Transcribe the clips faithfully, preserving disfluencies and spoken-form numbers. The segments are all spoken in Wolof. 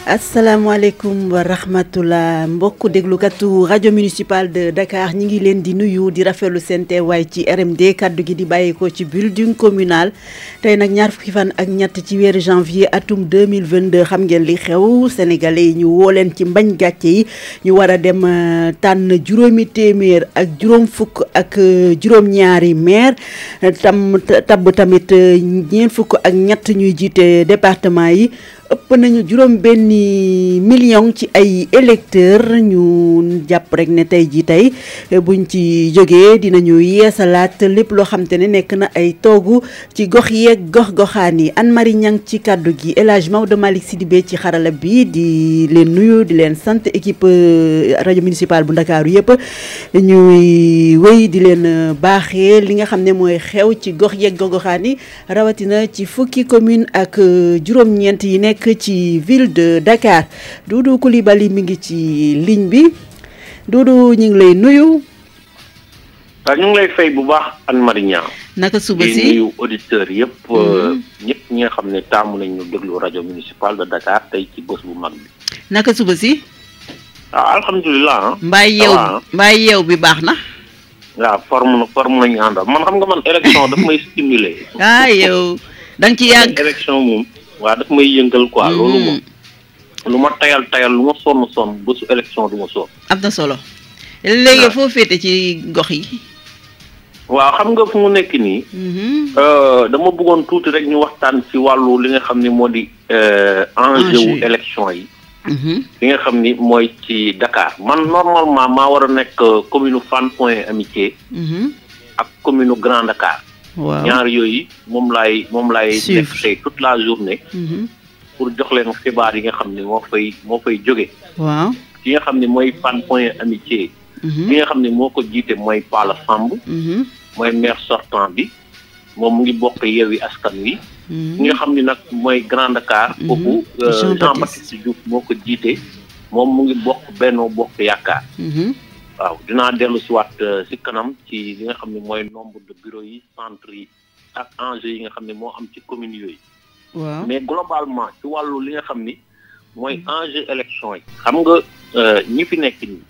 asalaamaaleykum wa rahmatullah mbokku déglukatu rajo municipal de Dakar ñi ngi leen di nuyu di rafetlu seen teewaay ci R M D kaddu gi di bàyyeekoo ci building communal tey nag ñaar fukki fan ak ñett ci weeru janvier atum deux mille vingt-deux xam ngeen li xew sénégalais yi ñu woo leen ci mbañ gàcce yi ñu war a dem tànn juróomi téeméer ak juróom fukk ak juróom-ñaari maire tam tabb tamit ñeent fukk ak ñett ñuy jiite département yi. ëpp nañu juróom benni million ci ay électeurs ñu jàpp rek ne tey jii tey buñ ci jógee dinañu yeesalaat lépp loo xam te ne nekk na ay toogu ci gox yeeg gox-goxaan yi Anne Marie Niang ci kàddu gi El Hadj Maodo Malick Sidibé ci xarala bi di leen nuyu di leen sant équipe rajo municipal bu Ndakaaru yëpp ñuy wéy di leen baaxee li nga xam ne mooy xew ci gox yeeg gox-goxaan yi rawatina ci fukki commune ak juróom-ñeent yi nekk ci ville de Dakar Doudou Coulibaly mi ngi ci ligne bi Doudou ñu ngi lay nuyu. waaw ñu ngi lay fay bu baax Anne Marie Niang. naka suba si di nuyu auditeurs yëpp. ñëpp ñi nga xam ne taamu nañ ñu déglu rajo municipal de Dakar tey ci bés bu mag bi. naka suba si. waaw alhamdulilah. mbaay yeew mbaay yeew bi baax na. waaw forme na forme nañu àndal man xam nga man élection daf may stimuler. ah yow da nga ci yàgg élection moom. waaw daf may yëngal quoi loolu moom lu ma tayal tayal lu ma sonn sonn bésu élection du ma sonn. am na solo léegi foo féete ci gox yi. waaw xam nga fu mu nekk nii. dama bëggoon tuuti rek ñu waxtaan ci wàllu li nga xam ni moo di. enjeu wu élection yi. li nga xam ni mooy ci Dakar man normalement maa war a nekk commune Fann Point Amitié. ak commune Grand Dakar. waaw ñaar yooyu moom laay moom laay def tey toute la journée. pour jox leen xibaar yi nga xam ne moo fay moo fay jóge. waaw ki nga xam ne mooy Fann Point Amitié. ki nga xam ne moo ko jiite mooy Pala Samb. mooy maire sortant bi moom mu ngi bokk Yewwi Askan Wi. ki nga xam ne nag mooy Grand Dakar. kooku Jean Baptiste Diouf moo ko jiite moom mu ngi bokk Benno Bokk Yaakaar. waaw dinaa dellu si waat si kanam ci li nga xam ne mooy nombre de bureaux yi centre yi ak enjeu yi nga xam ne moo am ci communes yooyu. waaw mais globalement ci wàllu li nga xam ni mooy enjeu élection yi. xam nga ñi fi nekk nii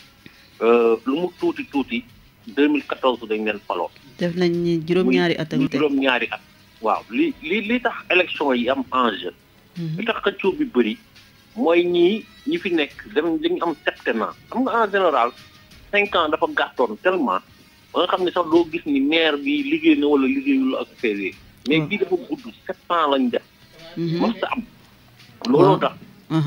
lu mu tuuti tuuti deux mille quatorze dañ leen faloo. def nañ ni juróom-ñaari at ak juróom-ñaari at. waaw li li li tax élection yi am enjeu. li tax xëccoo bi bëri mooy ñii ñi fi nekk dañ dañu am septennat xam nga en général. cinq ans dafa gàttoon tellement ba nga xam ne sax doo gis ni maire bi liggéey na wala liggéeyul ak P V mais bii dafa gudd sept ans lañ def. mos sa am. looloo tax.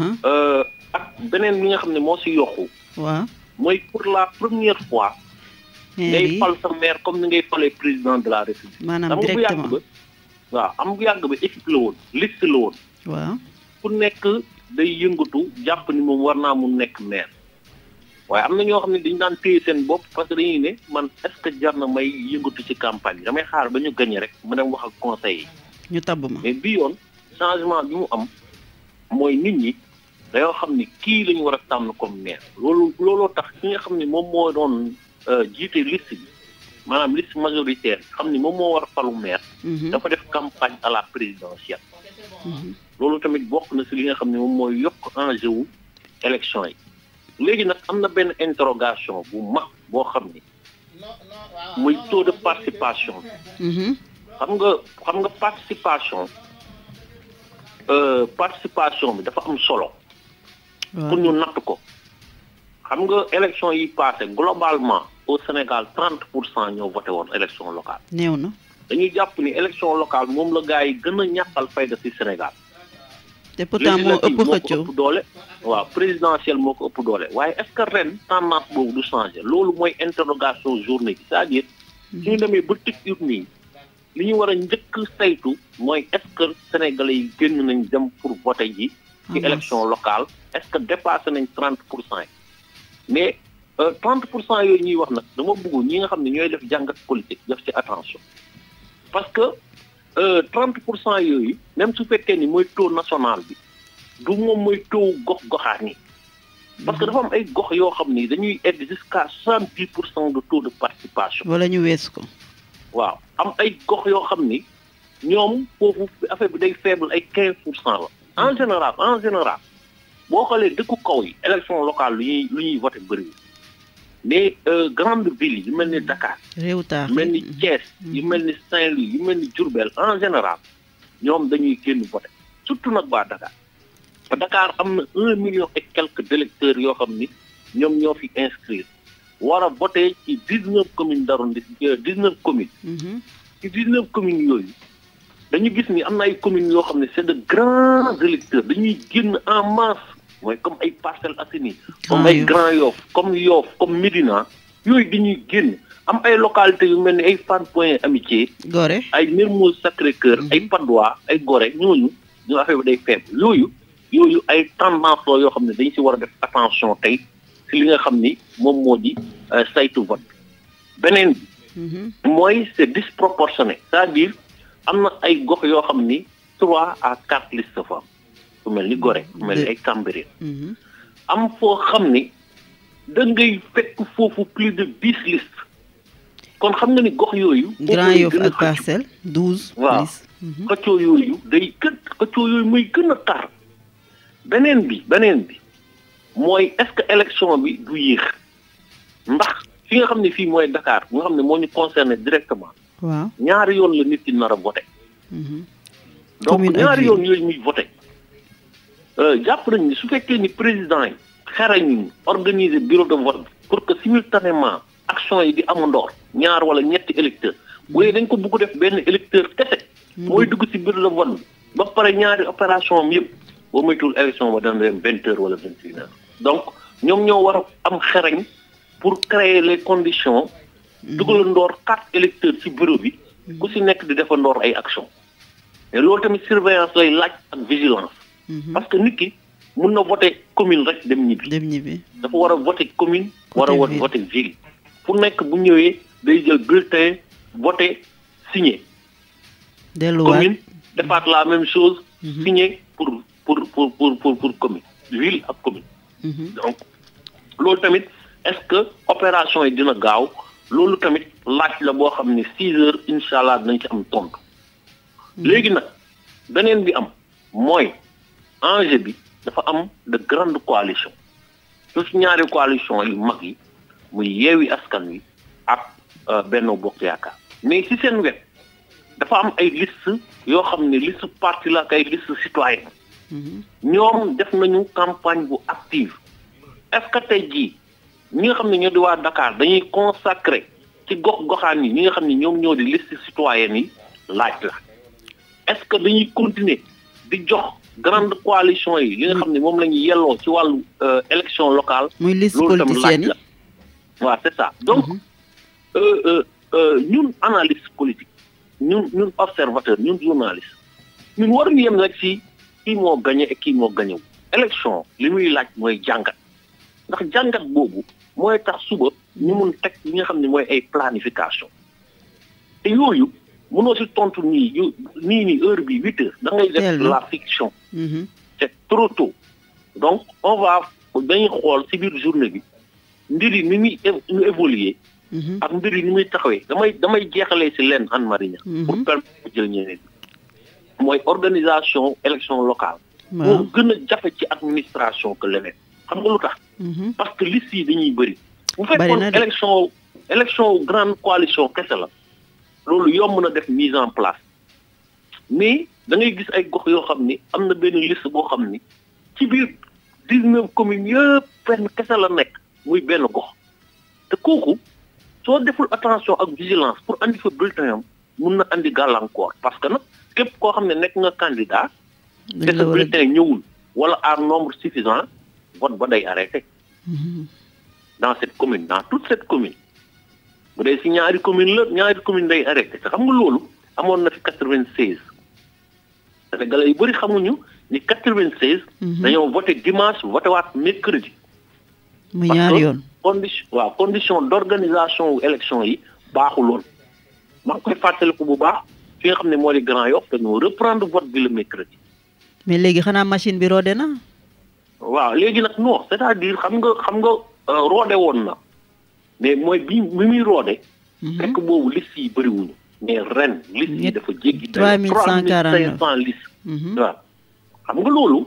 ak beneen bi nga xam ne moo si yokku. waaw mooy pour la première fois. ngay fal sa maire comme ni ngay falee président de la république. maanaam directement bu yàgg ba waaw am bu yàgg ba équipe la woon liste la woon. waaw ku nekk day yëngatu jàpp ni moom war naa mun nekk maire. waaye am na ñoo xam ne dañu daan téye seen bopp parce que dañuy ne man est-ce que jar na may yëngatu ci campagne bi damay xaar ba ñu gagné rek mu dem wax ak conseil yi. ñu tabb ma mais bii yoon changement bi mu am mooy nit ñi dañoo xam ni kii la ñu war a tànn comme maire. loolu looloo tax ki nga xam ne moom moo doon jiite liste bi maanaam liste majoritaire xam ni moom moo war a falu maire. dafa def campagne à la présidentielle. loolu tamit bokk na si li nga xam ne moom mooy yokk enjeu wu élection yi. léegi nag am na benn interrogation bu mag boo xam ni muy taux de participation. xam nga xam nga participation participation bi dafa am solo. pour ñu natt ko. xam nga élection yi passé globalement au Sénégal trente pour cent ñoo voté woon élection locale. néew na dañuy jàpp ni élection locale moom la gars yi gën a ñàkkal fayda ci Sénégal. te pourtant moo ëpp xëccoo ëpp doole waaw présidentiel moo ko ëpp doole waaye est-ce que ren tendance boobu du changer loolu mooy interrogation journée bi c'est-à-dire suñu demee ba tëj urne yi li ñu war a njëkk saytu mooy est-ce que sénégalais yi génn nañ dem pour voter ji ci élection locale est-ce que dépassé nañ trente pour cent yi mais trente pour cent yooyu ñuy wax nag dama bëgg ñi nga xam ne ñooy def jàngat politique def ci attention parce que trente pour cent yooyu même su fekkee ni mooy taux national bi du moom mooy taux gox goxaan yi parce que dafa am ay gox yoo xam ni dañuy egg jusqu'à soixante-dix pour cent de taux de participation. wala ñu wees ko. waaw am ay gox yoo xam ni ñoom foofu affaire bi day faible ay quinze pour cent la en général en général boo xoolee dëkku kaw yi élection locale lu ñuy lu ñuy voté bëri mais grande ville yi yu mel ni Dakar réew taax yu mel ni Thiès yu mel ni Saint-Louis yu mel ni Diourbel en général ñoom dañuy génn voté surtout nag waa Dakar Dakar am na un million et quelques d'électeurs yoo xam ni ñoom ñoo fi inscrire war a voté ci dix-neuf communes d'arrondissement dix-neuf communes ci dix-neuf communes yooyu dañu gis ni am na ay communes yoo xam ne c'est de grands électeurs dañuy génn en masse mooy comme ay Parcelles Assainies comme ay Grand Yoff comme Yoff comme Médina yooyu dañuy génn am ay localités yu mel ni ay Fann Point Amitié Gorée ay Mermoz Sacré-Cœur ay Patte d'Oie ay Gorée ñooñu ñu affaire bi day faible yooyu yooyu ay tendance la yoo xam ne dañ ci war a def attention tey ci li nga xam ni moom moo di saytu vote beneen bi mooy c'est disproportionné c'est-à-dire am na ay gox yoo xam ni trois à quatre listes fa am ku mel ni Gorée ku mel ni ay Cambérène am foo xam ni da ngay fekk foofu plus de dix listes kon xam nga ni gox yooyu Grand Yoff ak Parcelles douze waaw xëccoo yooyu day gën xëccoo yooyu muy gën a tar beneen bi beneen bi mooy est-ce que élection bi du yéex ndax fi nga xam ne fii mooy Dakar nga xam ne moo ñu concerné directement waaw ñaari yoon la nit ki nar a voté donc ñaari yoon yooyu muy voté jàpp nañ ni su fekkee ni président yi xarañ organiser bureau de vote pour que simultanément action yi di amandoor ñaar wala ñetti électeurs bu dee dañ ko bëgg def benn électeur kese mooy dugg ci bureau de vote bi ba pare ñaari opération am yëpp boo moytuwul élection ba dana dem vingt heures wala vingt et une heures donc ñoom ñoo war a am xarañ pour créer les conditions dugalandoor quatre électeurs ci bureau bi ku ci nekk di defandoor ay action mais loolu tamit surveillance lay laaj ak vigilance parce que nit ki mun na voter commune rek dem ñibbi dem ñibbi dafa war a voter commune war a voter ville fu nekk bu ñëwee day jël bulletin voter signé delluwaat commune defaat la même chose signé pour pour pour pour pour pour commune ville ak commune donc loolu tamit est-ce que opération yi dina gaaw loolu tamit laaj la boo xam ne six heures incha allah dinañ ci am tontu léegi nag beneen bi am mooy enjeu bi dafa am de grande coalition su ci ñaari coalition yu mag yi muy Yewwi Askan Wi ak Benno Bokk Yaakaar mais ci seen wet dafa am ay liste yoo xam ne liste parti la ak ay liste citoyenne ñoom def nañu campagne bu active est-ce que tey jii ñi nga xam ne ñoo di waa Dakar dañuy consacrer ci gox goxaan yi ñi nga xam ne ñoom ñoo di liste citoyenne yi laaj la est-ce que dañuy continuer di jox grande coalition yi li nga xam ne moom la ñuy yelloo ci wàllu élection locale muy liste politicienne yi waaw c'est ça donc ñun analyste politique ñun ñun observateur ñun journaliste ñun waruñu yem rek ci kii moo gagné et kii moo gagnéwu élection li muy laaj mooy jàngat ndax jàngat boobu mooy tax suba ñu mun teg li nga xam ne mooy ay planification te yooyu mënoo ci tontu nii yu nii nii heure bi huit heures da ngay def la fiction c'est trop tôt donc on va dañuy xool ci biir journée bi mbir yi ni muy ñu évoluer ak mbir yi ni muy taxawee damay damay jeexalee ci leen Anne Marie pour permettre jël ñeneen mooy organisation élection locale moo gën a jafe ci administration que leneen xam nga lu tax parce que liste yi dañuy bëri bu fekkoon élection élection grande coalition kese la loolu yomb na def mise en place mais da ngay gis ay gox yoo xam ni am na benn liste boo xam ni ci biir dix-neuf communes yëpp fenn kese la nekk muy benn gox te kooku soo deful attention ak vigilance pour andi fa bulletin am mun na andi gàllankoor parce que nag képp koo xam ne nekk nga candidat te sa bulletin ñëwul wala à nombre suffisant vote ba day arrêté dans cette commune dans toute cette commune bu dee si ñaari commune la ñaari commune day arrêté te xam nga loolu amoon na fi quatre-vingt-seize Sénégalais yu bëri xamuñu ni quatre-vingt-seize dañoo voté dimanche voté waat mercredi mu ñaari yoon condition waaw condition d'organisation wu élection yi baaxuloon maa ngi koy fàttaliku bu baax fi nga xam ne moo di Grand Yoff dañoo reprendre vote bi le mercredi mais léegi xanaa machine bi roode na waaw léegi nag non c'est-à-dire xam nga xam nga roode woon na mais mooy bi bi muy roode fekk boobu liste yi bëriwuñu mais ren liste yi dafa jéggi trois mille cent quarante-neuf liste waaw xam nga loolu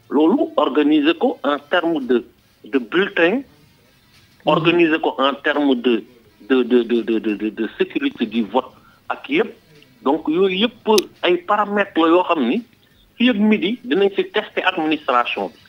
loolu organiser ko en terme de de bulletin, organiser ko en terme de de de de de de de sécurité du vote ak yëpp donc yooyu yëpp ay paramètres la yoo xam ni fii ak midi dinañ ci tester administration bi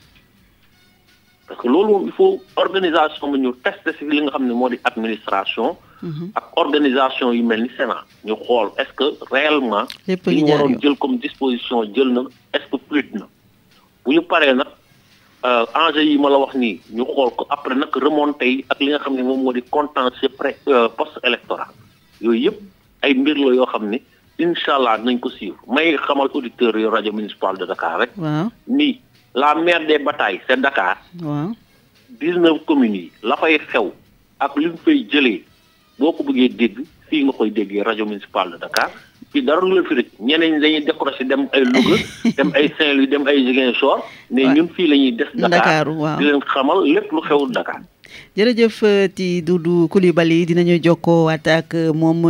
parce que loolu moom il faut organisation bi ñu tester ci li nga xam ne moo di administration. ak organisation yu mel ni Sénat ñu xool est-ce que réellement. lépp li ñu waroon jël comme disposition jël na est-ce que fluide na bu ñu paree nag enjeu yi ma la wax nii ñu xool ko après nag remonté yi ak li nga xam ne moom moo di contentieux pré post électoral yooyu yëpp ay mbir la yoo xam ne incha allah nañ ko suivre may xamal auditeurs yu rajo municipal de Dakar rek. waaw ni la mère des batailles c'est Dakar. waaw dix-neuf communes yi la fay xew ak li ñu fay jëlee boo ko bëggee dégg fii nga koy déggee rajo municipal de Dakar fii dara lu la fi rek ñeneen ñi dañuy décroché dem ay Louga dem ay Saint-Louis dem ay Ziguinchor mais ñun fii la ñuy des Dakar di leen xamal lépp lu xewul Dakar. jërëjëf ti Doudou Coulibaly dinañu jokkoo waat ak moom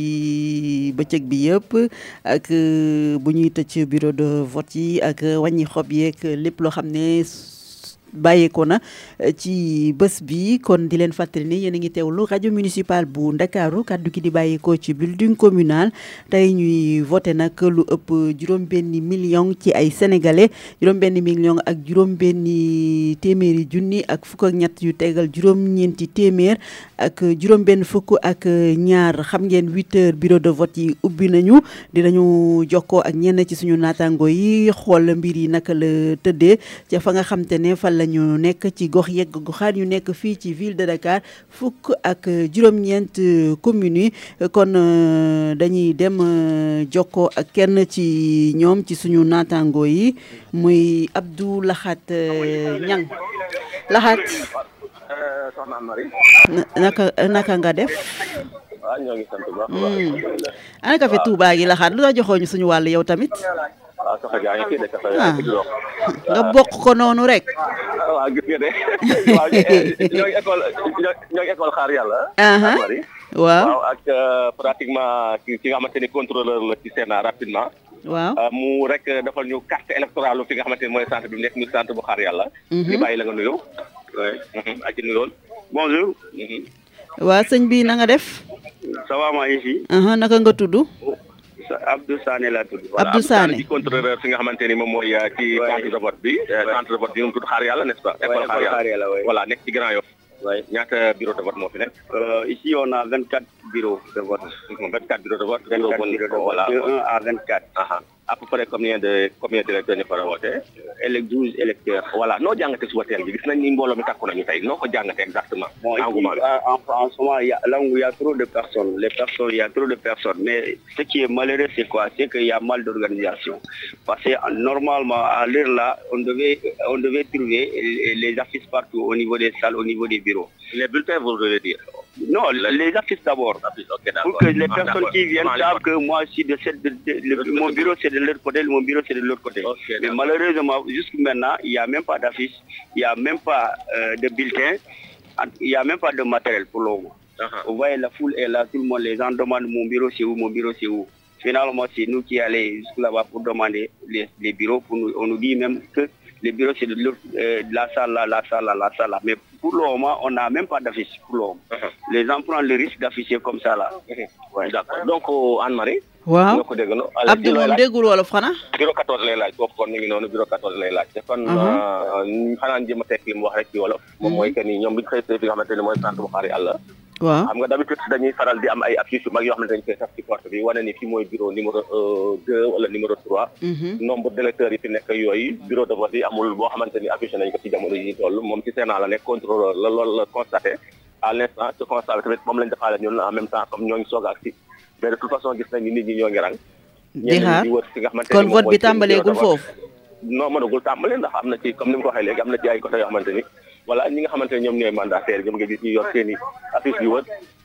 ci bëccëg bi yëpp ak bu ñuy tëj bureau de vote yi ak wàññi xob yeeg lépp loo xam ne bàyyeekoo na ci bés bi kon di leen fàttali ni yéen a ngi teewlu rajo municipal bu Ndakaaru kaddu gi di bàyyeekoo ci building communal tey ñuy voté nag lu ëpp juróom-benni million ci ay sénégalais juróom-benni million ak juróom-benni téeméeri junni ak fukk ak ñett yu tegal juróom-ñeenti téeméer ak juróom-benn fukk ak ñaar xam ngeen huit heures bureau de vote yi ubbi nañu dinañu jokkoo ak ñenn ci suñu naataango yi xool mbir yi naka la tëddee ca fa nga xam te ne fa la ñu nekk ci gox yegg goxaan yu nekk fii ci ville de Dakar fukk ak juróom-ñeent communes yi kon dañuy dem jokkoo ak kenn ci ñoom ci suñu naataango yi muy Abdou Lahat Niang Lahat soxna Marie naka naka nga def waaw ñoo ngi sant bu baax ana café Touba gi Lahat lu la joxoo ñu suñu wàll yow tamit waaw soxna gaa ngi fii de café nga bokk ko noonu rek waaw gis nga de waaw ñoo ngi école ñoo ngi école xaar yàlla Marie waaw ak pratiquement ki nga xamante ni contrôleur la ci Sénat rapidement waaw mu rek defal ñu carte électorale fi nga xamante ni mooy centre bi mu nekk muy centre bu xaar yàlla ñu bàyyi la nga nuyu ak ci nuyoon bonjour waaw sëñ bi na nga def ça va maa ngi fi naka nga tudd Abdou Sané laa tudd. Abdou Sané di contrôleur fi nga xamante ni moom mooy ci centre de vote bi. centre de vote bi mu tudd Xaar Yàlla n'est-ce pas. école Xaar Yàlla voilà nekk ci Grand Yoff. oui ñaata bureau de vote moo fi nekk. ici on a vingt-quatre bureaux de vote. vingt-quatre bureaux de vote. vingt-quatre bureaux de vote voilà de un à vingt-quatre. à peu près combien de combien d'électeurs ñu fa voté. élec douze électeurs. voilà noo jàngatee suba teel bi gis nañ ni mbooloo mi takku nañu tey noo ko jàngatee exactement. bon ici en en ce moment il y a là où il y a trop de personnes les personnes il y a trop de personnes mais ce qui est malheureux c'est quoi c'est qu'il y a mal d'organisation parce que normalement à l'heure là on devait on devait trouver les affiches partout au niveau des salles au niveau des bureaux. les bulletins vous voulez dire. non les affiches d'abord. Okay, pour que les personnes qui viennent savent que moi je suis de cette de, de, de, mon bureau c'est de l'autre côté mon bureau c'est de l'autre côté. Okay, mais malheureusement jusqu'à maintenant il y a même pas d'affiche il y a même pas euh, de bulletin il y a même pas de matériel pour le moment. Uh-huh. Vous voyez la foule est là tout le monde les gens demandent mon bureau c'est où mon bureau c'est où. Finalement c'est nous qui allons jusque là-bas pour demander les, les bureaux pour nous on nous dit même que les bureaux c'est de, euh, de la salle là la salle là la salle là mais pour le moment on n'a même pas d'affiche pour le moment. Uh-huh. Les gens prennent le risque d'afficher comme ça là. Uh-huh. Ouais. D'accord donc Anne-Marie. waaw Abdou moom déggul wolof xanaa. bureau quatorze lay laaj boobu kon ñu ngi noonu bureau quatorze lay laaj. te kon xanaa jëm a tekk li mu wax rek ci wolof. moom mooy que ni ñoom bi ñu xëy fi nga xamante ne mooy centre bu Xaar Yàlla. waaw xam nga d'habitude dañuy faral di am ay affiches yu mag yoo xamante ne dañu koy taf ci porte bi wane ni fii mooy bureau numéro deux wala numéro trois. nombre d'électeurs yi fi nekk yooyu bureau de vote yi amul boo xamante ni affiché nañ ko ci jamono yi toll moom ci Sénat la nekk contrôleur la loolu la constaté à l'instant ce constat tamit moom lañ defaale ñun en même temps comme ñoo ngi soog a agsi mais de toute façon gis nañ ni nit ñi ñoo ngi rang. di xaar kon vote bi tàmbaleegul foofu. non mënagul tàmbale ndax am na ci comme ni mu ko waxee léegi am na ci ay côté yoo xamante ni voilà ñi nga xamante ne ñoom ñooy mandataire ñoom nga gis ñu yor seen i affiche yu wër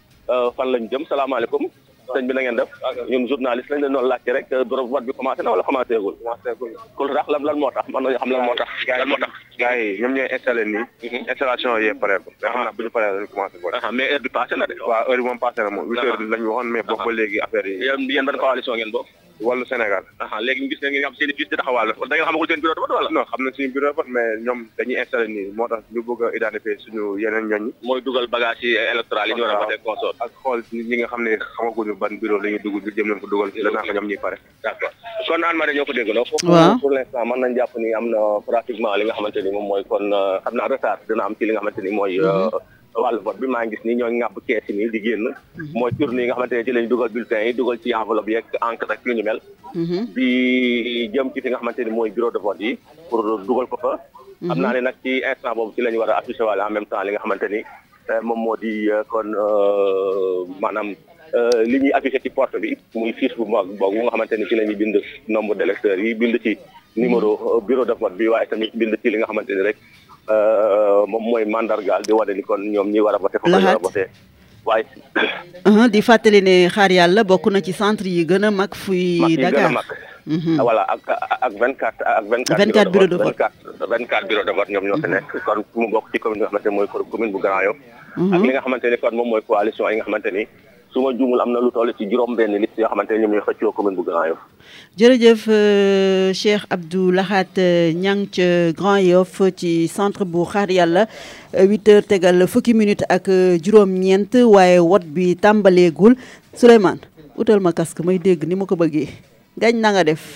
fan lañ jëm salaamaaleykum sëñ bi na ngeen def ñun journaliste lañ leen doon laajte rek bureau vote bi commencé na wala commencé gul kul rax lan lan moo tax man nañu xam lan moo tax lan moo tax gars yi ñoom ñooy installé nii installation yee pare ko mais xam naa bu ñu paree lañ commencé vote mais heure bi passé na de waaw heure bi moom passé na moom huit heures lañ waxoon mais boobu ba léegi affaire yi yéen ban coalition ngeen bokk wàllu Sénégal. ah léegi ñu gis ne ngeen am seen i fiches de taxawaal la da ngeen xamagul seen bureau de vote wala. non xam na suñu bureau de vote mais ñoom dañuy installé nii moo tax ñu bëgg a identifier suñu yeneen ñooñ ñi. mooy dugal bagage yi électoral yi ñu war a voté consort. ak xool ñi nga xam ne xamaguñu ban bureau la ñuy dugg ñu jëm leen ko dugal la naa ko ñoom ñuy pare. d'accord kon Anne Marie ñoo ko déggandoo. waaw pour l'instant mën nañ jàpp ni am na pratiquement li nga xamante ni moom mooy kon xam naa retard dina am ci li nga xamante ni mooy wàllu vote bi maa ngi gis ni ñoo ŋàbb kees yi nii di génn mooy tourne yi nga xamante ne ci lañ dugal bulletin yi dugal ci enveloppe yeeg encre rek lu ñu mel bi jëm ci fi nga xamante ni mooy bureau de vote yi pour dugal ko fa xam naa ne nag ci instant boobu ci lañ war a affiché wala en même temps li nga xamante ni moom moo di kon maanaam li ñuy affiché ci porte bi muy fiche bu mag boobu nga xamante ni ci la ñuy bind nombre d'électeurs yi bind ci numéro bureau de vote bi waaye tamit bind ci li nga xamante ni rek moom mooy mandargaal di wane ni kon ñoom ñi war a voté foofu la war a voté waaye di fàttali ne xaar yàlla bokk na ci centre yi gën a mag fuy Dakar mag voilà ak ak vingt quatre ak vingt quatre bureau de vote vingt quatre bureau de vote ñoom ñoo fi nekk kon mu bokk ci commune bi nga xamante ni mooy commune bu Grand Yoff ak li nga xamante ni kon moom mooy coalition yi nga xamante ni su ma juumul am na lu toll ci juróom benn liste yoo xamante ne ñoom ñooy xëccoo commune bu Grand Yoff. jërëjëf Cheikh Abdou Lahat Niang ca Grand Yoff ci centre bu xaar yàlla huit heures tegal fukki minutes ak juróom-ñeent waaye wot bi tàmbaleegul Souleymane utal ma casque may dégg ni ma ko bëggee gañ na nga def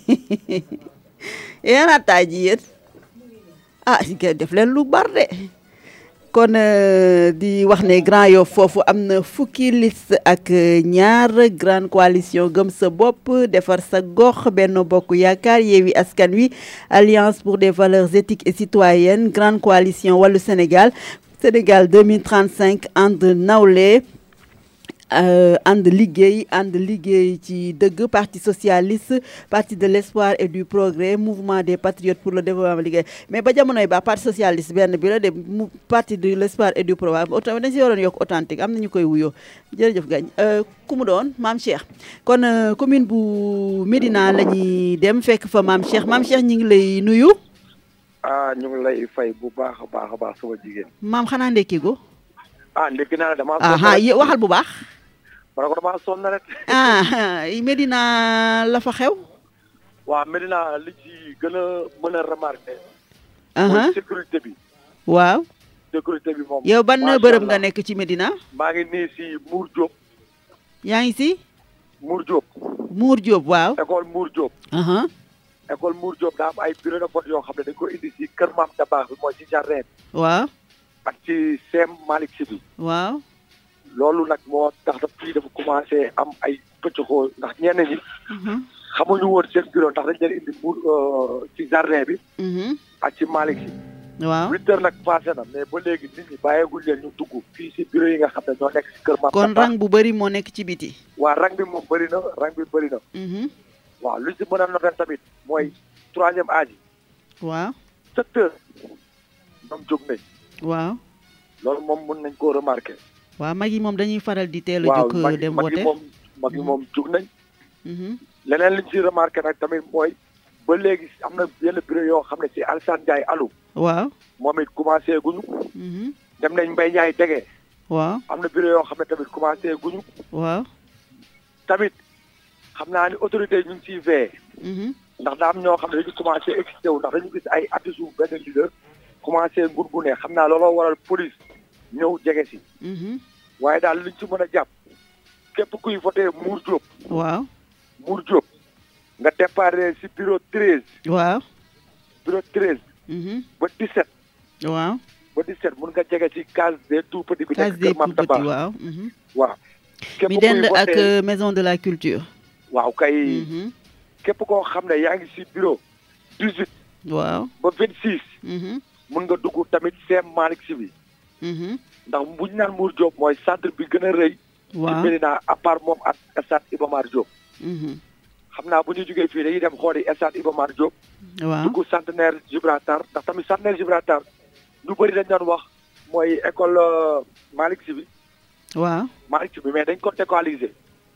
yéen attaay ji yéen ah def leen lu bar de. kon di wax ne Grand Yoff foofu am na fukki liste ak ñaar grande coalition gëm sa bopp defar sa gox Benno Bokk Yaakaar Yewwi Askan Wi alliance pour des valeurs éthiques et citoyennes grande coalition Wallu Sénégal Sénégal deux mille trente-cinq ànd nawle ànd liggéey ànd liggéey ci dëgg parti socialiste parti de l'espoir et du progrès mouvement des patriotes pour le développement liggéey mais ba jamonoy ba parti socialiste benn bi la de parti de l'espoir et du progrès autant dañ si waroon yokk authentique am na ñu koy wuyoo jërëjëf gañ ku mu doon maam Cheikh kon commune bu Médina la ñuy dem fekk fa maam Cheikh maam Cheikh ñu ngi lay nuyu. ah ñu ngi lay fay bu baax a baax a baax sama jigéen. maam xanaa ndekki go. ah ndekki naa damaa. ah waxal bu baax. ma ne ko damaa sonn rek. ah Médina la fa xew. waaw Médina li ci gën a mën a remarqué. mooy sécurité bi. waaw. sécurité bi moom. yow ban bërëb nga nekk ci Médina. maa ngi nii si Mour Diop. yaa ngi si. Mour Diop. Mour Diop waaw. école Mour Diop. école Mour Diop daa am ay bureau de vote yoo xam ne dañ ko indi si kër Maam Dabakh bi mooy si jardin. waaw. ak ci Sem Malick Sy bi. waaw. loolu nag moo tax daf fii dafa commencé am ay pëccxoo ndax ñenn ñi xamuñu woon seen bureau ndax dañ leen indi buur ci jardin bi ak ci Malick Sy waaw huit heures nag passé na mais ba léegi nit ñi bàyyeeguñ leen ñu dugg fii si bureau yi nga xam ne ñoo nekk si kër Maam kon rang bu bëri moo nekk ci biti waaw rang bi moom bëri na rang bi bëri na waaw lu si mën a noter tamit mooy troisième âge yi waaw sept heures ñoom jóg nañ waaw loolu moom mën nañ koo remarqué waaw mag yi moom dañuy faral di teel a jóg dem wote waaw mag yi moom jóg nañ. leneen liñ ci remarqué nag tamit mooy ba léegi am na yenn bureau yoo xam ne ci Alassane Ndiaye Alou. waaw moom it commencé guñu. dem nañ Mbaye Ndiaye Dege. waaw am na bureau yoo xam ne tamit commencé guñu. waaw. tamit xam naa ni autorité yi ñu ngi ciy veillé. ndax daa am ñoo xam ne dañu commencé excité wu ndax dañu gis ay affiches benn leader commencé ngurgune xam naa looloo waral police. ñëw jege si. waaye daal liñ ci mën a jàpp képp kuy voté Mour Diop. waaw. Mour Diop nga déparé si bureau treize. waaw. bureau treize. ba dix-sept. waaw. ba dix-sept mun nga jege si case des tout petits bi. case des tout petits waaw. waaw. képp mi dend ak maison de la culture. waaw kay. képp koo xam ne yaa ngi si bureau dix-huit. waaw. ba vingt-six. mun nga dugg tamit Sem Malick Sy bi. ndax bu ñu naan Mour Diop mooy centre bi gën a rëy. waaw ci Médina à part moom ak stade Iba Mar Diop. xam naa bu ñu jógee fii dañuy dem xooli stade Iba Mar Diop. waaw dugg centenaire Gibraltar ndax tamit centenaire Gibraltar ñu bëri dañ doon wax mooy école Malick Sy bi. waaw Malick Sy bi mais dañ ko décoalisé.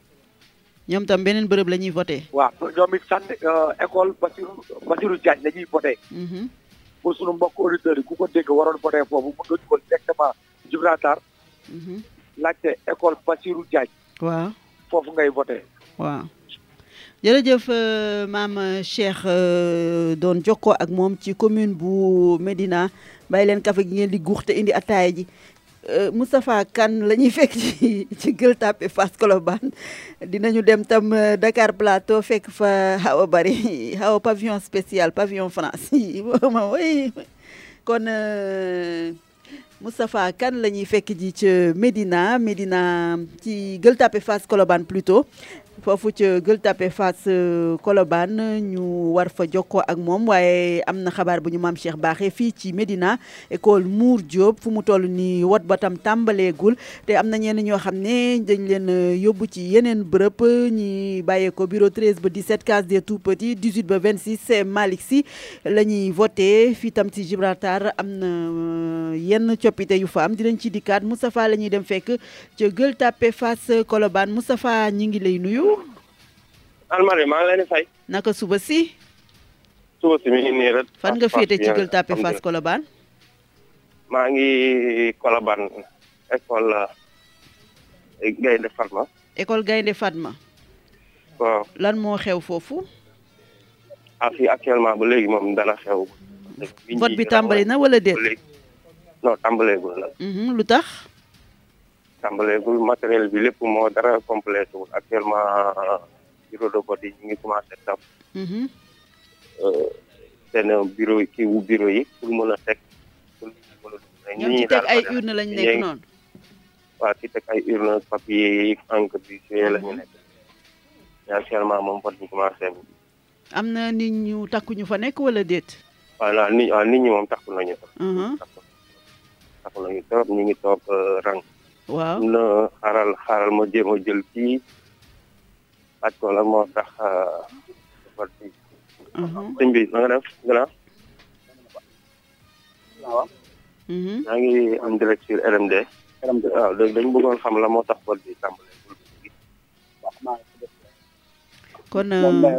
ñoom tam beneen bërëb la ñuy voté. waaw ñoom it sant école Bassirou Bassirou Diagne la ñuy voté. pour suñu mbokk auditeurs yi ku ko dégg waroon voté foofu mën nga dugal directement Gibraltar. laajte école Bassirou Diagne. waaw foofu ngay voté. waaw jërëjëf maam Cheikh doon jokkoo ak moom ci commune bu Médina bàyyi leen café gi ngeen di guux te indi ataaya ji Moustapha Kane la ñuy fekk ci ci Gueule Tapée Fass Colobane dinañu dem tam Dakar Plateau fekk fa Awa Bari Awa pavillon spécial pavillon France ma way kon Moustapha Kane la ñuy fekk ji ci Médina Médina ci Gueule Tapée Fass Colobane plutôt foofu ci Gueule Tapée Fass Colobane ñu war fa jokkoo ak moom waaye am na xabaar bu ñu maam Cheikh baaxee fii ci Médina école Mour Diop fu mu toll ni wot ba tam tàmbaleegul te am na ñenn ñoo xam ne dañ leen yóbbu ci yeneen bërëb ñi bàyyee ko bureau treize ba dix-sept case des tout petits dix-huit ba vingt-six Malick Sy la ñuy voté fii tam ci Gibraltar am na yenn coppite yu fa am dinañ ci dikkaat Moustapha la ñuy dem fekk ci Gueule Tapée Fass Colobane Moustapha ñi ngi lay nuyu. Almari maa ngi leen di fay. naka suba si. suba si mi ngi nii rek. fan nga féete ci Gueule Tapée Fass Colobane. maa ngi Colobane école Gaynde Fatma. école Gaynde Fatma. waaw lan moo xew foofu. ah fii actuellement ba léegi moom dana xew. vote bi tàmbali na wala déet. non tàmbaleegul nag. lu tax. tàmbaleegul matériel bi lépp moo dara complété wul actuellement bureau de vote yi ñu ngi commencé taf seen bureau kii wu bureau yi pour mën a teg pour mën a ñoom ci teg ay urne lañ nekk noonu waaw ci teg ay urne papier yi encre bi suye la ñu nekk actuellement moom vote ñu commencé am na nit ñu takku ñu fa nekk wala déet voilà nit waaw nit ñi moom takku nañu takku takku nañu trop ñu ngi toog rang waaw na xaaral xaaral ma jéem a jël kii laaj ko lan moo tax vote bi sëñ bi na nga def gannaaw waaw maa ngi am direct sur R M D waaw léegi dañu bëggoon xam la moo tax vote bi tàmbale kon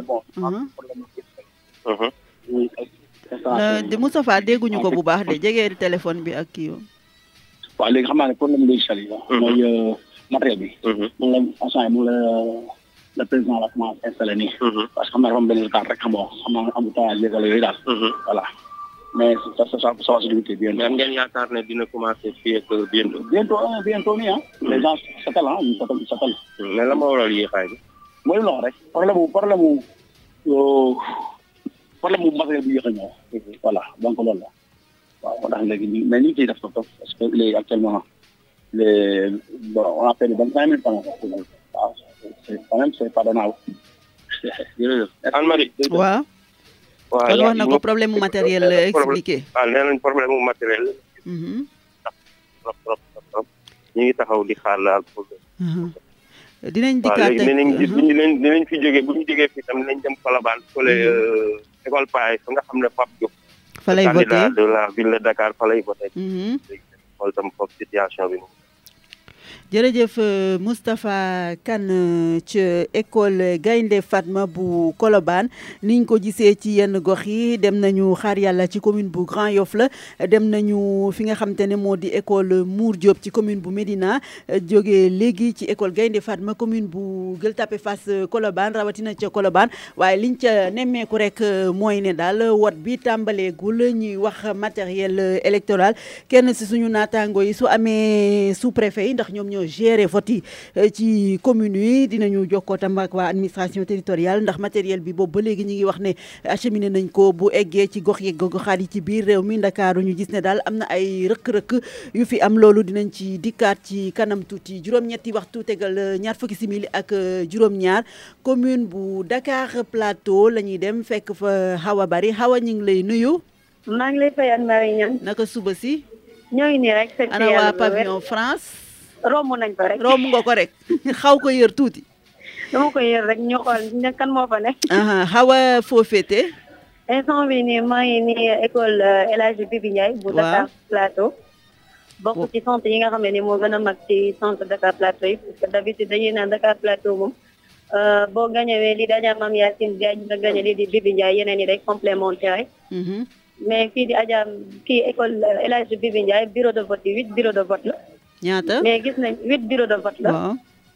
de Moustapha dégguñu ko bu baax de jege téléphone bi ak kii waaw léegi xam naa ne problème logiciel yi la mooy matériel bi moom la instant moom la le président la commencé installé nii parce que xam naa dafa am benn retard rek xam nga xam naa embouteillage yeeg wala yooyu daal voilà mais ça ça ça va se limiter bientôt mais ngeen yaakaar ne dina commencé fii ak bientôt bientôt bientôt nii ah les gens s'attellent ah ñu s'attellent s'attellent mais la ma waral yéexaay bi mooy loxo rek problème mu problème mu problème mu matériel bi yéex a ñëw voilà donc loolu la waaw moo tax léegi ñu mais ñu ngi ciy def topp parce que léegi actuellement les bon on a fait vingt cinq mille francs waaw c'est quand même c'est pardonnable jërëjëf Anne-Marie waaw kon wax na ko problème mu matériel expliqué waaw nee nañ problème mu matériel trop trop trop ñu ngi taxaw di xaar laal pour dinañ dikkaat léegi dinañ dinañ dinañ fi jógee bu ñu jógee fii tam dinañ dem Colobane fële école Paye fa nga xam ne Pape Diop fa lay voté candidat de la ville de Dakar fa lay voté xool tam foofu situation bi jërëjëf Moustapha Kane ci école Gaynde Fatma bu Colobane niñ ko gisee ci yenn gox yi dem nañu xaar yàlla ci commune bu Grand Yoff la dem nañu fi nga xam te ne moo di école Mour Diop ci commune bu Médina jógee léegi ci école Gaynde Fatma commune bu Gueule Tapée Fass Colobane rawatina ca Colobane waaye liñ ca nemmeeku rek mooy ne daal wot bi tàmbaleegul ñuy wax matériel électoral kenn si suñu naataango yi su amee sous-préfet yi ndax ñoom ñoo gérer vote yi ci commune yi dinañu jokkoo tam ak waa administration territoriale ndax matériel bi boobu ba léegi ñu ngi wax ne acheminé nañ ko bu eggee ci gox yeeg goxaat yi ci biir réew mi Ndakaaru ñu gis ne daal am na ay rëkk-rëkk yu fi am loolu dinañ ci dikkaat ci kanam tuuti juróom-ñetti waxtu tegal ñaar fukki simili ak juróom-ñaar commune bu Dakar Plateau la ñuy dem fekk fa Awa Bari Awa ñu ngi lay nuyu. maa ngi lay fay Anne-Marie Niang. naka suba si. ñoo ngi nii rek. ana waa pavillon France. romb nañ ko rek romb nga ko rek xaw ko yër tuuti. dama ko yër rek ñu xool kan moo fa ne. xaw a foo féete. instant bi nii maa ngi nii école El Hadji Bibi Ndiaye. bu Dakar Plateau. bokk ci centre yi nga xam ne ni moo gën a mag ci centre Dakar Plateau yi parce que d'habitude dañuy naan Dakar Plateau moom boo gañewee lii Adja Mame Yacine Diagne nga gañe lii di Bibi Ndiaye yeneen yi day complémentaire mais fii di Adja kii école El Hadji Bibi Ndiaye bureau de vote yi huit bureau de vote la. ñaata mais gis nañ huit bureau de vote la. waaw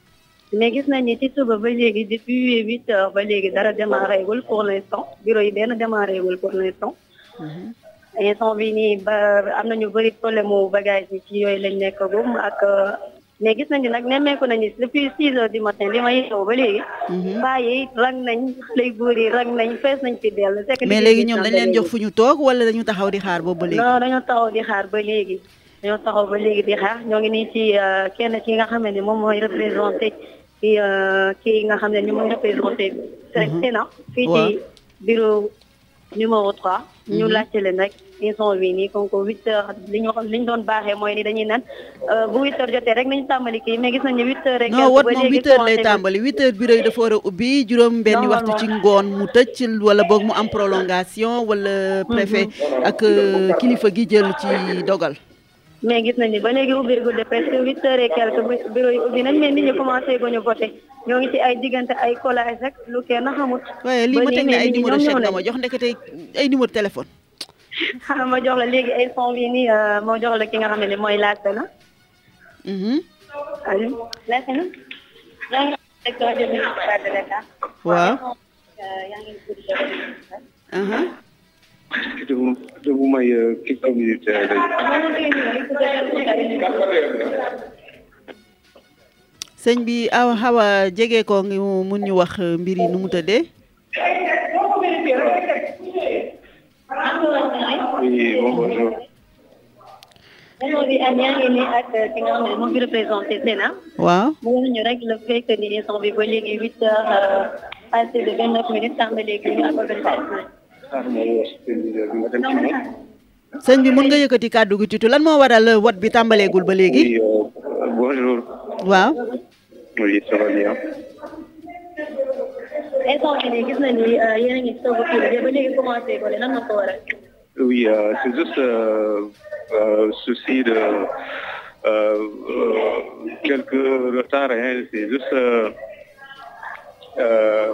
mais gis nañ ni ci suba ba léegi depuis huit heures ba léegi dara démarré gul pour l'instant bureau yi benn démarré gul pour l'instant. instant bi nii ba am nañu bëri problème mu bagage yi ci yooyu lañ nekkagum ak mais gis nañu nag nemmeeku nañu depuis six heures du matin bi ma yeewu ba léegi. paa yi rang nañ lay góor yi rang nañ fees nañ fi dell. mais léegi ñoom dañ leen jox fu ñu toog wala dañu taxaw di xaar boobu ba léegi. non dañoo taxaw di xaar ba léegi. dañoo taxaw ba léegi di xaar ñoo ngi nii ci kenn ki nga xam ne moom mooy représenté ci kii nga xam ne ni mooy représenté Sénat fii ci bureau numéro trois ñu laajte leen rek ils sont bi nii comme que huit heures li ñu li ñu doon baaxee mooy ni dañuy naan bu huit heures jotee rek nañu tàmbali kii mais gis nañ ne huit heures rek non wat moom huit heures lay tàmbali huit heures bureau yi dafa war a ubbi juróom benni waxtu ci ngoon mu tëj wala boog mu am prolongation wala préfet ak kilifa gi jël ci dogal. mais gis nañ ni ba léegi ubbi gudde presque huit heures et quelque bureau yi ubbi nañ mais nit ñi commencé guñu voté ñoo ngi ci ay diggante ay collage rek lu kenn xamut. waaye lii ma teg ne ay numéro chèque nga ma jox ndekete ay numéro téléphone. xam ma jox la léegi ay son bi nii moo jox la ki nga xam ne mooy laajte na. allo laajte na. yaa ngi nekk rajo municipal de Dakar. waaw. yaa ngi de vous, de vous may quelques minutes. sëñ bi aw xaw a jege ko ngi mun ñu wax mbir yi nu mu tëddee. oui bonjour. ñoo ngi am yaa ngi nii ak ki nga xam ne moo fi représenté Sénat. waaw. mu ngi ñu rek le fait que ni instant bi ba léegi huit heures passé de vingt neuf minutes tàmbali léegi ñu ak organisation. sëñ bi mun nga yëkkati kàddu gi tuuti lan moo waral wat bi tàmbaleegul ba léegi. oui bonjour. waaw. oui ça va bien. instant bi nii gis nañ ni yéen a ngi soog a kii ba léegi commencé ko lan moo ko waral. oui c'est juste euh, souci de euh, euh, quelques retards hein c'est juste. Euh,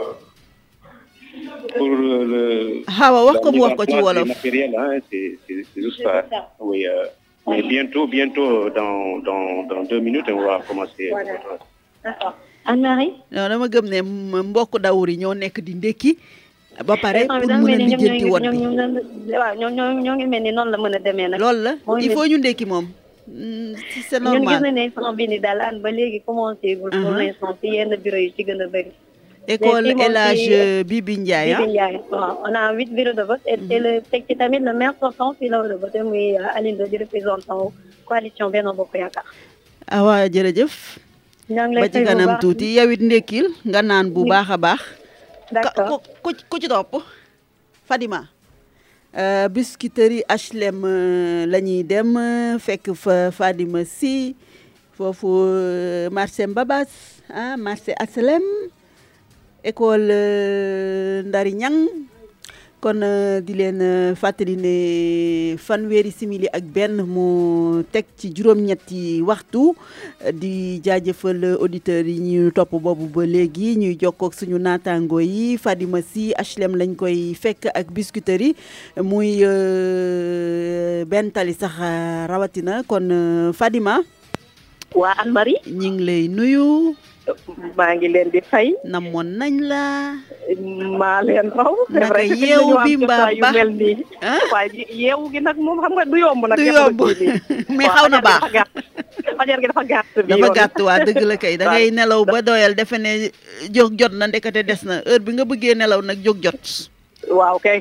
pour le xawa wax ko mu wax ko ci wolof matériel hein c'est c'est c'est juste ça oui euh, mais bientôt bientôt dans dans dans deux minutes on va commencer. d'accord Anne-Marie. non dama gëm ne mbokk dawur yi ñoo nekk di ndekki ba pare pour mën a lijjanti wot bi waaw ñoo ñoo ñoo ngi mel ni noonu la mën a demee nag. loolu la il faut ñu ndekki moom c'est normal. ñun gis nañ ne instant bi ni daal an ba léegi commencé gul pour l'instant ci yenn bureau yi ci gën a bëri. école El Hadj Bibi Ndiaye Bibi Ndiaye waaw on a huit bureaux de vote et le teg ci tamit le maire sortant fii la war a voté muy Aline di représentant coalition Benno Bokk Yaakaar. ah waaw jërëjëf. ñoo ngi lay ba ci kanam tuuti yow it ndekkil nga naan bu baax a baax. d'accord ku ku ci topp Fadima. Biscuiterie H L M la ñuy dem fekk fa Fadima si foofu marché Mbabas ah marché H L M. école Ndari Ñang kon di leen fàttali ne fanweeri simili ak benn mu teg ci juróom-ñetti waxtu di jaajëfal auditeurs yi ñu topp boobu ba léegi ñuy jokkoo ak suñu naataango yi Fadima si H L M lañ koy fekk ak Biscuiterie muy benn tali sax rawatina kon Fadima. waa Anne-Marie. ñu ngi lay nuyu. maa ngi leen di fay. namoon nañ la. maa leen raw. naka yeewu bi mbaa ba mel nii. waaye yeewu gi nag moom xam nga du yomb nag. du yomb mais xaw na baax. fajar gi dafa gàtt. dafa gàtt waa dëgg la kay da ngay nelaw ba doyal defe ne jóg jot na ndekete des na heure bi nga bëggee nelaw nag jóg jot. waaw kay.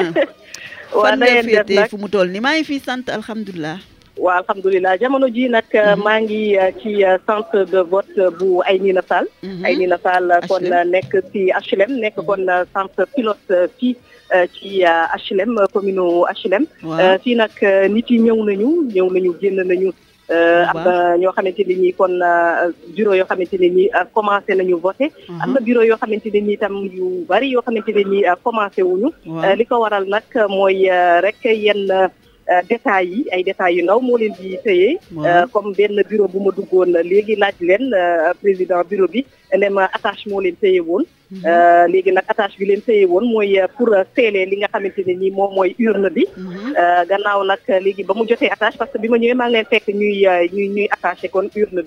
fan nga féetee fu mu toll ni maa ngi fii sant alhamdulilah. waaw alhamdulilah jamono ji nag maa ngi ci centre de vote bu Aynina Fall. Aynina Fall kon nekk ci H L M nekk kon centre pilote fii ci H L M commune H L M. fii nag nit yi ñëw nañu ñëw nañu génn nañu. am na ñoo xamante ne nii kon bureau yoo xamante ne nii commencé nañu voté. am na bureau yoo xamante ne nii tam yu bari yoo xamante ne nii commencé wuñu. li ko waral nag mooy rek yenn. détails yi ay détails yu ndaw moo leen di tëyee comme benn bureau bu ma duggoon léegi laaj leen président bureau bi ne ma attache moo leen tëye woon léegi nag attache bi leen tëye woon mooy pour sceller li nga xamante ne nii moom mooy urne bi gannaaw nag léegi ba mu jotee attache parce que bi ma ñëwee maa ngi leen fekk ñuy ñuy ñuy attaché kon urne bi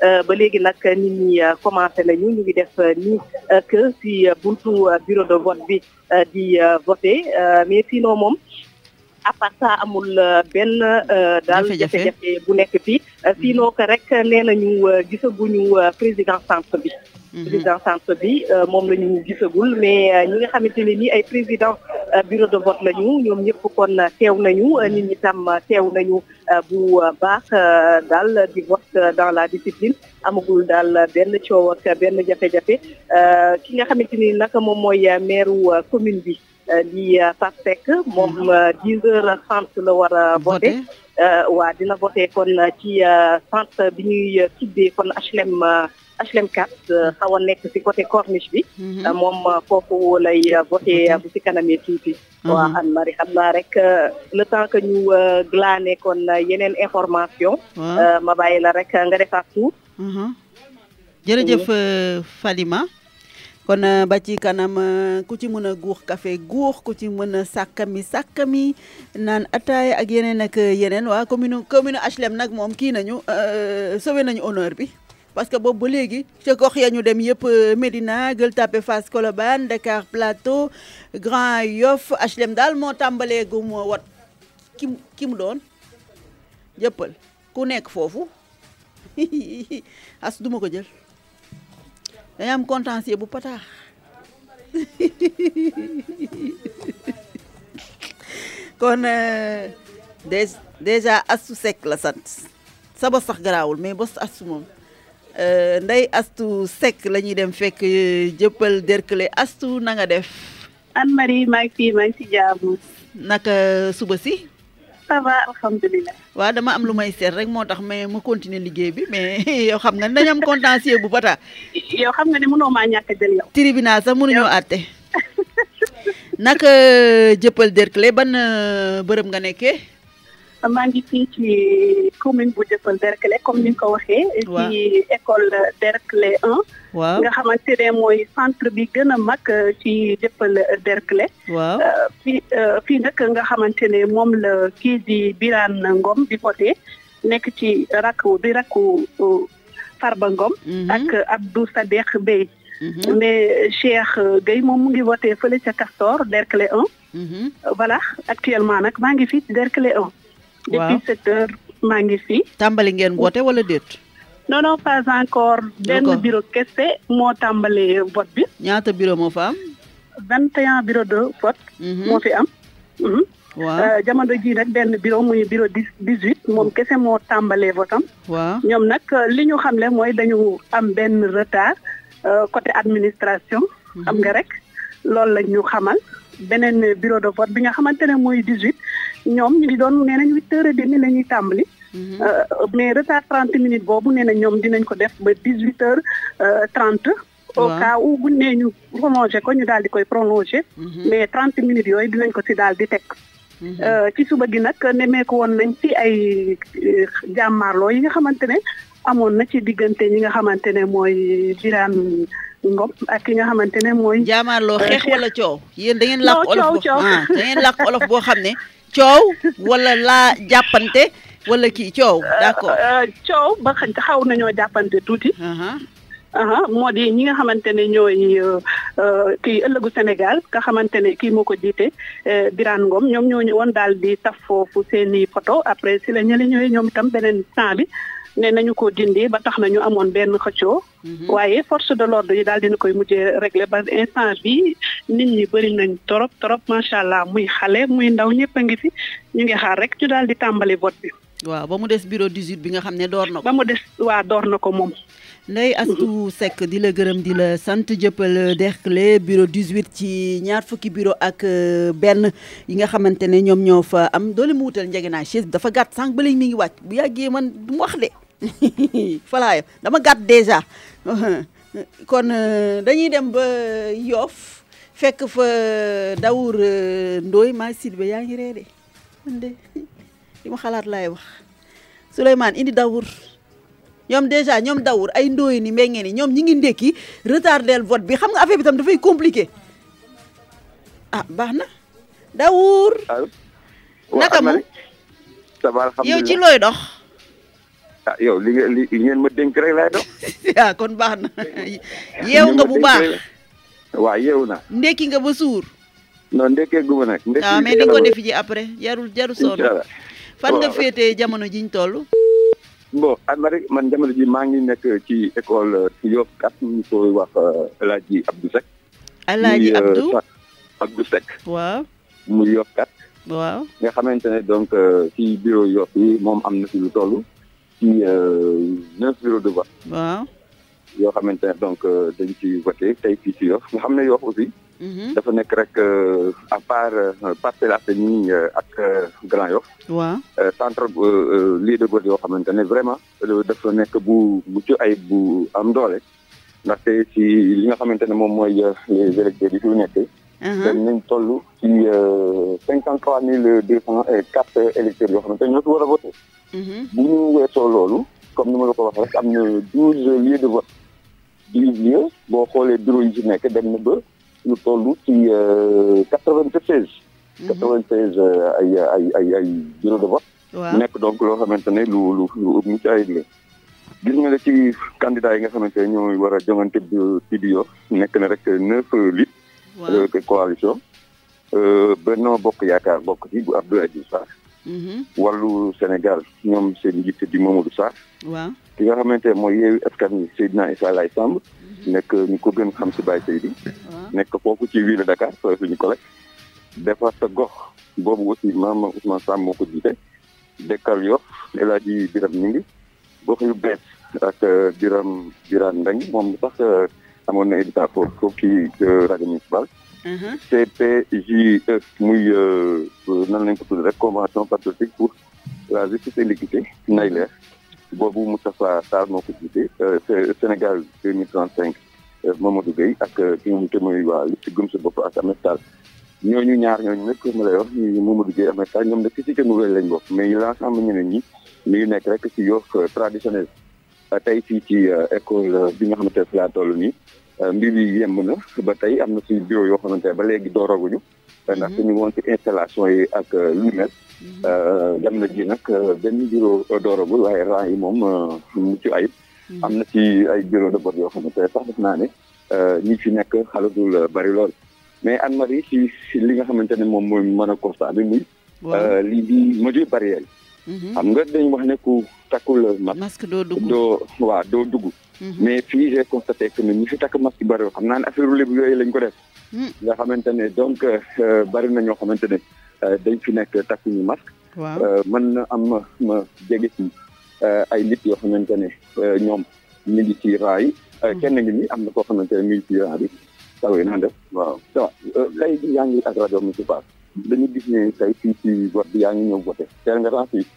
ba léegi nag nit ñi commencé nañu ñu ngi def nii que si buntu bureau de vote bi di voter mais sinon moom à part ça amul benn daal jafe-jafe bu nekk fii sinon que rek nee nañu gisaguñu président centre bi président centre bi moom la ñu gisagul mais ñi nga xamante ne nii ay président bureau de vote lañu ñoom ñëpp kon teew nañu nit ñi tam teew nañu bu baax daal di vote dans la discipline amagul daal benn coow ak benn jafe-jafe ki nga xamante ni nag moom mooy maire commune bi di Pape Seck moom dix heures trente la war a voté waa dina voté kon ci centre bi ñuy tuddee kon H L M H L M quatre xaw a nekk ci côté corniche bi moom foofu lay voté bu ci kanamee tuuti waaw Anne Marie xam naa rek le temps que ñu glané kon yeneen information ma bàyyi la rek nga defaat tout jërëjëf Fadima kon ba ci kanam ku ci mën a guux café guux ku ci mën a sàkkami sàkkami naan ataaya ak yeneen ak yeneen waa commune commune H L M nag moom kii nañu sauvé nañu honneur bi parce que boobu ba léegi ca gox ya ñu dem yëpp Médina Gueule Tapée Fass Colobane Dakar Plateau Grand Yoff H L M daal moo tàmbalee gu moo wat ki ki mu doon jëppal ku nekk foofu as duma ko jël dañu am contentieux bu pataax kon déjà Astou Seck la sant sa bos sax garaawul mais bos Astou moom Ndeye Astou Seck la ñuy dem fekk jëppal Derklé Astou na nga def Anne Marie maa ngi fii maa ngi ci jaamu naka suba si ça va alhamdulilah waaw dama am lu may seet rek moo tax mais ma continuer liggéey bi mais yow xam nga ne dañu am contentieux bu bata yow xam nga ne mënoo maa ñàkk a jël yow tribunal sax mënuñoo àtte naka jëppal Derklé ban bërëb nga nekkee maa ngi fii ci commune bu Jëppal Derklé comme ni nga ko waxee. ci école Derklé un. waaw nga xamante ne mooy centre bi gën a mag ci Jëppal Derklé. waaw fii fii nag nga xamante ne moom la kii di Birane Ngom di voté nekk ci rakku di rakku Farba Ngom. ak Abdou Sadekh Bey. mais Cheikh Gueye moom mu ngi voté fële ca Castor Derklé un. voilà actuellement nag maa ngi fii ci Derklé un. depuis sept heures maa ngi fi. tàmbali ngeen woote wala déet. non non pas encore. benn bureau kese moo tàmbalee vote bi. ñaata bureau moo fa am. vingt et un bureau de vote. moo fi am. waaw jamono ji nag benn bureau muy bureau dix dix huit moom kese moo tàmbalee vote am. waaw ñoom nag li ñu xamle mooy dañu am benn retard côté administration. xam nga rek loolu la ñu xamal. beneen bureau de vote bi nga xamante ne mooy dix huit ñoom ñu ngi doon nee nañ huit heures et demi la ñuy tàmbali. mais retard trente minutes boobu nee na ñoom dinañ ko def ba dix huit heures trente. au cas où buñ nee ñu prolongé ko ñu daal di koy prolongé. mais trente minutes yooyu dinañ ko ci daal di teg. ci suba gi nag nemmeeku woon nañ ci ay jàmmaarloo yi nga xamante ne amoon na ci diggante ñi nga xamante ne mooy Birane Ngom ak ki nga xamante ne mooy. jàmmaarloo xeex wala coow. yéen da ngeen làkk olof boo ah da ngeen làkk olof boo xam ne. coow wala laa jàppante wala kii coow. d'accord coow ba xaw nañoo jàppante tuuti. moo di ñi nga xamante ne ñooy kii ëllëgu Sénégal nga xamante ne kii moo ko jiite Birane Ngom ñoom ñoo ñëwoon daal di taf foofu seeni photo après si la ñële ñëwee ñoom itam beneen temps bi ne nañu ko dindi ba tax nañu amoon benn xëccoo. waaye force de l'ordre yi daal dina koy mujjee régler ba instant bi nit ñi bëri nañ torop torop macha allah muy xale muy ndaw ñëpp a ngi fi ñu ngi xaar rek ñu daal di tàmbali vote bi. waaw ba mu des bureau dix-huit bi nga xam ne door na ko. ba mu des waa door na ko moom. Ndeye Astou Seck di la gërëm di la sant Jëppal Derklé bureau dix-huit ci ñaar fukki bureau ak benn yi nga xamante ne ñoom ñoo fa am doole mu wutal njëgënaay chaise bi dafa gàtt sànq ba léegi mi ngi wàcc bu yàggee man du mu wax de falaayo dama gàtt déjà kon dañuy dem ba Yoff fekk fa Dawour Ndoye maa Sidibé yaa ngi ree de man de li ma xalaat laay wax Souleymane indi Dawour ñoom déjà ñoom Dawour ay Ndoye ni mbéngee ni ñoom ñi ngi ndekki retardel vote bi xam nga affaire bi tam dafay compliqué ah baax na Dawour naka mu yow ci looy dox ah yow li li ngeen ma dénk rek laay dox. ah kon baax na yeewu nga bu baax. waaw yeewu na. ndekki nga ba suur. non ndekkee gu ma nag. ndekki waaw mais di nga ko def ji après jarul jarul sonn. fan nga féetee jamono jiñ toll. bon Anne-Marie man jamono ji maa ngi nekk ci école Yoff kat ñu koy wax El Hadji Abdou Seck. El Hadji Abdou Abdou Seck. waaw. mu Yoff kat. waaw. nga xamante ne donc ci bureau Yoff yi moom am na ci lu toll ci neuf bureaux de vote. waaw. yoo xamante ne donc dañ ci voté tey fii ci Yoff nga xam ne Yoff aussi. dafa nekk rek à part Parcelles Assainies ak Grand Yoff. waaw. centre lieu de vote yoo xamante ne vraiment dafa nekk bu mucc ay bu am doole ndaxte ci li nga xamante ne moom mooy les électeurs yi fi nekk. dañ nañ toll ci cinquante trois mille deux cent quatre électeurs yoo xamante ne ñoo fi war a voté. bu ñu weesoo loolu comme ni ma la ko waxee rek am na douze lieux de vote douze lieux boo xoolee bureau yi ci nekk dem na ba. ñu toll ci quatre-vingt-seize. quatre-vingt-seize ay ay ay ay bureau de vote. waaw nekk donc loo xamante ne lu lu lu ëpp mucc ayib la. gis nga ne ci candidat yi nga xamante ne ñooy war a jongante ci bi Yoff nekk na rek neuf listes. waaw coalition. Benno Bokk Yaakaar bokk ci bu Abdoulaye Diouf Sarr. Wàllu Sénégal ñoom seen njiit di Mamadou Sarr. waaw ki nga xamante ne mooy Yewwi Askan Wi Seydina Issa Laye Samb. nekk ñu ko gën xam si Baye Seydi. nekk foofu ci ville de Dakar soo suñu collègue. defar sa gox boobu aussi maam Ousmane Sam moo ko jiite. Dekkal Yoff El Hadji Biram Ñingi gox yu bees ak Biram Birane Ndeng moom sax amoon na éditat foofu foofu ci rajo municipal. C P J E muy nan lañ ko tudd rek convention patriotique pour la justice et l'équité nay leer boobu Moustapha Sarr moo ko jiite Sénégal deux mille trente cinq Mamadou Gueye ak ki nga xamante mooy waa li ci gëm sa bopp ak Ahmed Tall ñooñu ñaar ñooñu nag ma lay wax ñu Mamadou Gueye Ahmed Tall ñoom nag ci cité nouvelle lañ bokk mais l'ensemble ñeneen ñi mi ngi nekk rek ci Yoff traditionnel tey fii ci école bi nga xamante ne laa toll nii mbir yi yemb na ba tey am na ci bureau yoo xamante ne ba léegi dooraguñu ndax ñu woon ci installation yi ak lu mel dem na ji nag benn bureau dooragul waaye rang yi moom mucc ayib am na ci ay bureau de vote yoo xamante ne sax def naa ne ñi fi nekk xalatul bari lool mais Anne-Marie ci li nga xamante ne moom mooy mën a constat bi muy lii di mesure barrière yi xam nga dañ wax ne ku takkul masque doo dugg doo waaw doo dugg mais fii j'ai constaté que ne ñi fi takk masque bari xam naa ne affaire lébu yooyu lañ ko def nga xamante ne donc bari na ñoo xamante ne dañ fi nekk takkuñu masque mën na am ma ma jege ci ay nit yoo xamante ne ñoom ñu ngi ci raa yi kenn ngi ni am na koo xamante ne mi ngi ci raa bi tawee naa def waaw ça tey ji yaa ngi ak rajo municipal dañu gis ne tey fii ci vote bi yaa ngi ñëw voté teel nga ren fii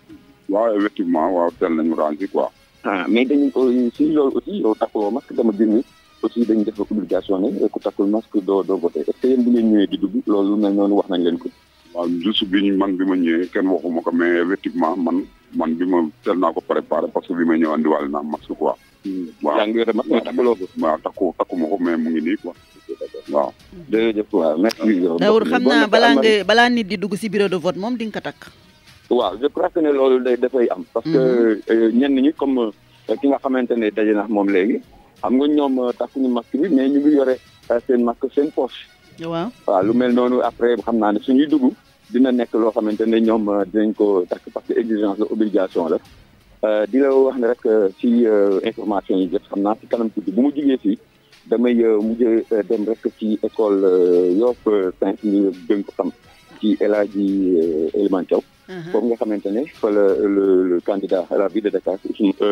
waaw effectivement waaw teel nañu ren fii quoi ah mais dañu ko si loolu aussi yow takkuloo masque dama gis ni aussi dañu def obligation ne ku takkul masque doo doo voté est-ce que yéen bu ngeen ñëwee di dugg loolu mel noonu wax nañ leen ko waaw juste bi ñu man bi ma ñëwee kenn waxuma ko mais effectivement man man bi ma teel naa ko préparé parce que bi ma ñëw andiwaale naa masque quoi waaw yaa ngi yore masque mais takkuloo ko waaw takku takkuma ko mais mu ngi nii quoi waaw jërëjëf waaw merci Daour xam naa balaa nga balaa nit di dugg si bureau de vote moom di nga ko takk waaw je crois que ne loolu day dafay am parce que ñenn ñi comme ki nga xamante ne daje na moom léegi xam nga ñoom takkuñu masque bi mais ñu ngi yore seen masque seen poche waaw waaw lu mel noonu après xam naa ne suñuy dugg dina nekk loo xamante ne ñoom dinañ ko takk parce que exigence la obligation la di la wax ne rek ci information yi jot xam naa ci kanam tuuti bu mu jugee fii damay mujj dem rek ci école Yoff cinq ñu gën ko xam ci El Hadji Elimane Thiaw foofu nga xamante ne fa la le candidat à la ville de Dakar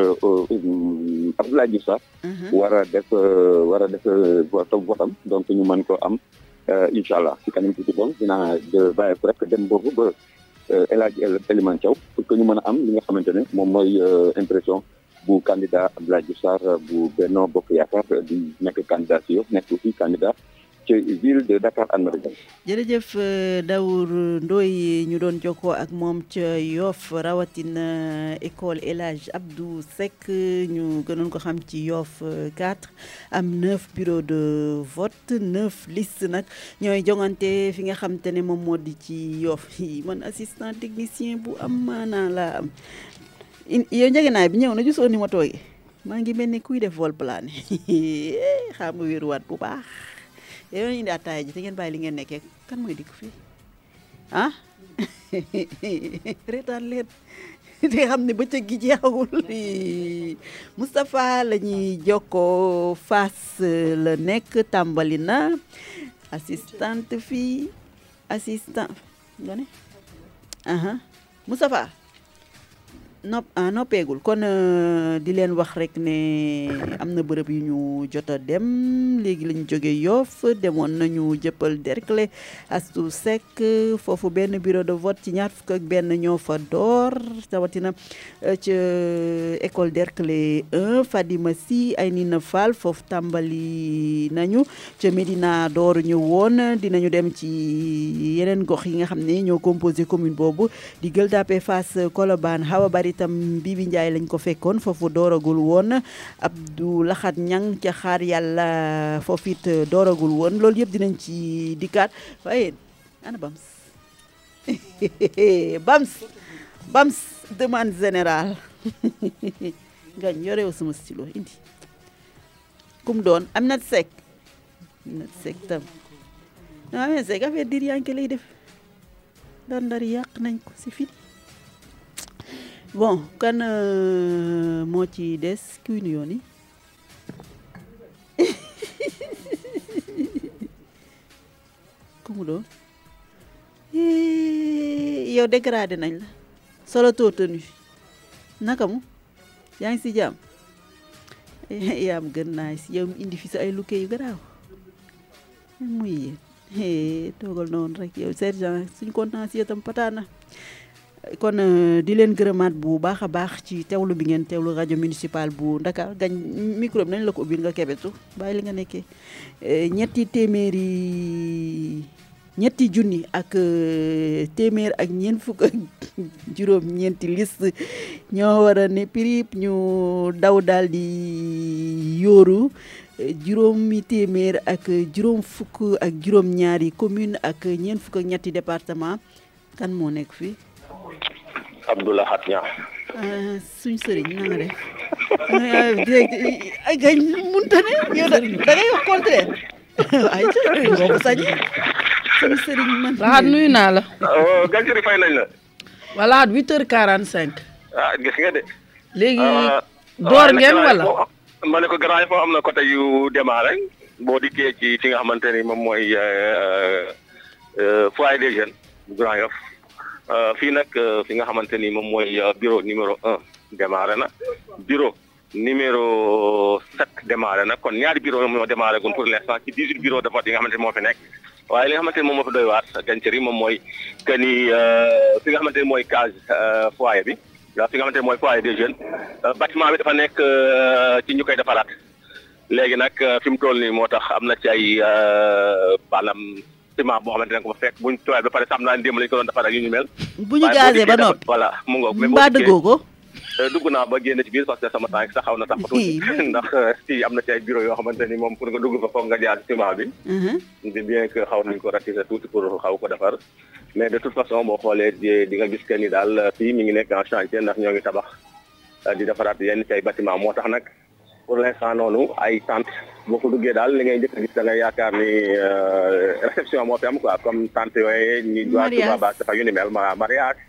Abdoulaye Diouf Sarr war a def war a def votam votam donc ñu mën ko am incha allah ci kanam tuuti bon dinaa bàyyi ko rek dem boobu ba El Hadji Elimane Thiaw pour que ñu mën a am li nga xamante ne moom mooy impression bu candidat Abdoulaye Diouf Sarr bu Benno Bokk Yaakaar di nekk candidat si Yoff nekk aussi candidat ci ville de Dakar Anne-Marie. jërëjëf Daour Ndoye ñu doon jokkoo ak moom ca Yoff rawatina école El Hadji Abdou Seck ñu gënoon ko xam ci Yoff quatre am neuf bureaux de vote neuf listes nag ñooy jongante fi nga xam te ne moom moo di ci Yoff yi man assistant technicien bu am maanaa laa am yow njëgënaay bi ñëw na gisoo ni ma toogee maa ngi mel ni kuy def vol plané xam nga wéeruwaat bu baax yow indi ataaya ji te ngeen bàyyi li ngeen nekkee kan mooy dikk fii ah reetaan leen te xam ne bëccëg gi jeexawul Moustapha la ñuy jokkoo Fass la nekk tàmbali na assistante fii assistant nga ne aha Moustapha nopp ah noppeegul kon di leen wax rek ne am na bërëb yu ñu jot a dem léegi lañu jóge Yoff demoon nañu Jëppal Derklé Astou Seck foofu benn bureau de vote ci ñaar fukk ak benn ñoo fa door tawatina ca école Derklé un Fadima Sy Aynina Fall foofu tàmbali nañu ca Médina door ñu woon dinañu dem ci yeneen gox yi nga xam ne ñoo composé commune boobu di Gueule Tapée Fass Colobane Hawa Bari itam Bibi Ndiaye lañ ko fekkoon foofu dooragul woon Abdou Laxat Ñang ca xaar yàlla foofu it dooragul woon loolu yëpp dinañ ci dikkaat waaye ana Bams Bams Bams demande générale ngañ yorew sama stylo indi kum doon Aminata Seck Aminata Seck tam non Aminata Seck affaire dir yanke lay def ndar ndar yàq nañ ko si fini bon kan moo ci des kuy nu yoon yi ku mu doon yow dégradé nañ la solo too tenu naka mu yaa ngi si jàmm yaam gën naa si yow indi fi sa ay lukke yu garaaw muy yéen toogal noonu rek yow sergent suñ kontaan si itam pataana kon di leen gërëmaat bu baax a baax ci teewlu bi ngeen teewlu rajo municipal bu Dakar gañ micro bi nañ la ko ubbil nga kebetu bàyyi li nga nekkee ñetti téeméeri ñetti junni ak téeméer ak ñeent fukk ak juróom ñeenti liste ñoo war a ne pirip ñu daw daal di yóoru juróomi téeméer ak juróom fukk ak juróom ñaari commune ak ñeent fukk ak ñetti département kan moo nekk fii Abdoulaye Khat Niang suñ sëriñ na nga def direct ay gañ munta ne yow da ngay wax contraire ay boobu sañ suñ sëriñ man Lahat nuyu naa la Galtieri fay nañ la wala huit heures quarante-cinq ah gis nga de léegi door ngeen wala ma ne ko grand yi foo am na côté yu démarré boo dikkee ci fi nga xamante ni moom mooy foyer des jeunes Grand Yoff fii nag fi nga xamante ni moom mooy bureau numéro un démarré na bureau numéro sept démarré na kon ñaari bureau moo démarré gun pour l'instant ci dix-huit bureau de vote yi nga xamante ni moo fi nekk waaye li nga xamante ni moom moo fi doy waar Galtieri moom mooy que ni fi nga xamante ni mooy case foyer bi waaw fi nga xamante ni mooy foyer des jeunes bâtiment bi dafa nekk ci ñu koy defaraat léegi nag fi mu toll nii moo tax am na ci ay maanaam ciment boo xamante ne ko fa fekk buñ tooyal ba pare sam naa démb lañu ko doon defar ak yu ñu mel bu ñu gazee ba noppi voilà mu ngoog mbaa dëggoo ko dugg naa ba génn ci biir parce que sama tànk sax xaw na tax tuuti ndax si am na ci ay bureau yoo xamante ni moom pour nga dugg fa foog nga jaar ciment bi di bien que xaw nañ ko ratisser tuuti pour xaw ko defar mais de toute façon boo xoolee di nga gis que ni daal fii mi ngi nekk en chantier ndax ñoo ngi tabax di defaraat yenn ci ay bâtiment moo tax nag pour l'instant noonu ay tente boo ko duggee daal li ngay njëkk a gis da ngay yaakaar ni réception moo fi am quoi comme tente yooyu ñi doit tuba ba dafa yu ni mel ma mariage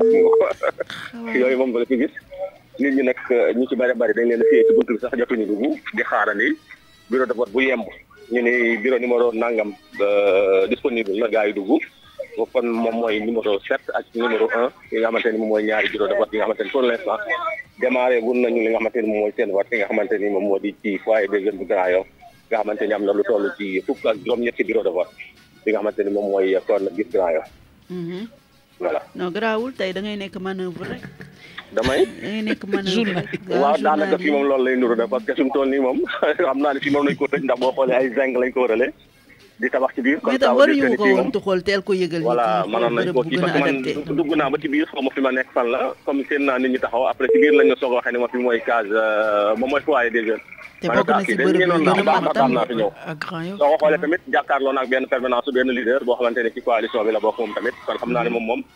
yooyu moom nga fi gis nit ñi nag ñu ci bëri bëri dañ leen a fiyee ci buntu bi sax jotuñu dugg di xaarandi bureau de vote bu yemb ñu ni bureau numéro nangam disponible la gars yi dugg kon moom mooy numéro sept ak numéro un yi nga xamante ni moom mooy ñaari bureau de vote yi nga xamante ni pour l'instant démarré gun nañu li nga xamante ni moom mooy seen vote yi nga xamante ni moom moo di ci foyer des jeunes bu Grand Yoff nga xamante ni am na lu toll ci fukk ak juróom-ñetti bureau de vote yi nga xamante ni moom mooy kon gis Grand Yoff voilà non garaawul tey da ngay nekk manœuvre rek damay da ngay nekk manœuvre waaw daanaka fii moom loolu lay nuru de parce que suñu toll nii moom xam naa ne fii moom nañu ko tëj ndax boo xoolee ay zinc lañ ko wërale di tabax ci biir mais tam waruñu ko woon tuxool teel ko yëgal voilà mënoon nañ ko kii parce que man dugg naa ba ci biir xaw ma fi ma nekk fan la comme seen naa nit ñi taxaw après ci biir lañ ñu soog a waxee ne ma fi mooy case moom mooy foyer des jeunes te bokk na si bërëb yu gën a mag tam naa fi ñëw soo ko xoolee tamit jàkkaarloo naag benn permanence benn leader boo xamante ne ci coalition bi la bokk moom tamit kon xam naa ne moom moom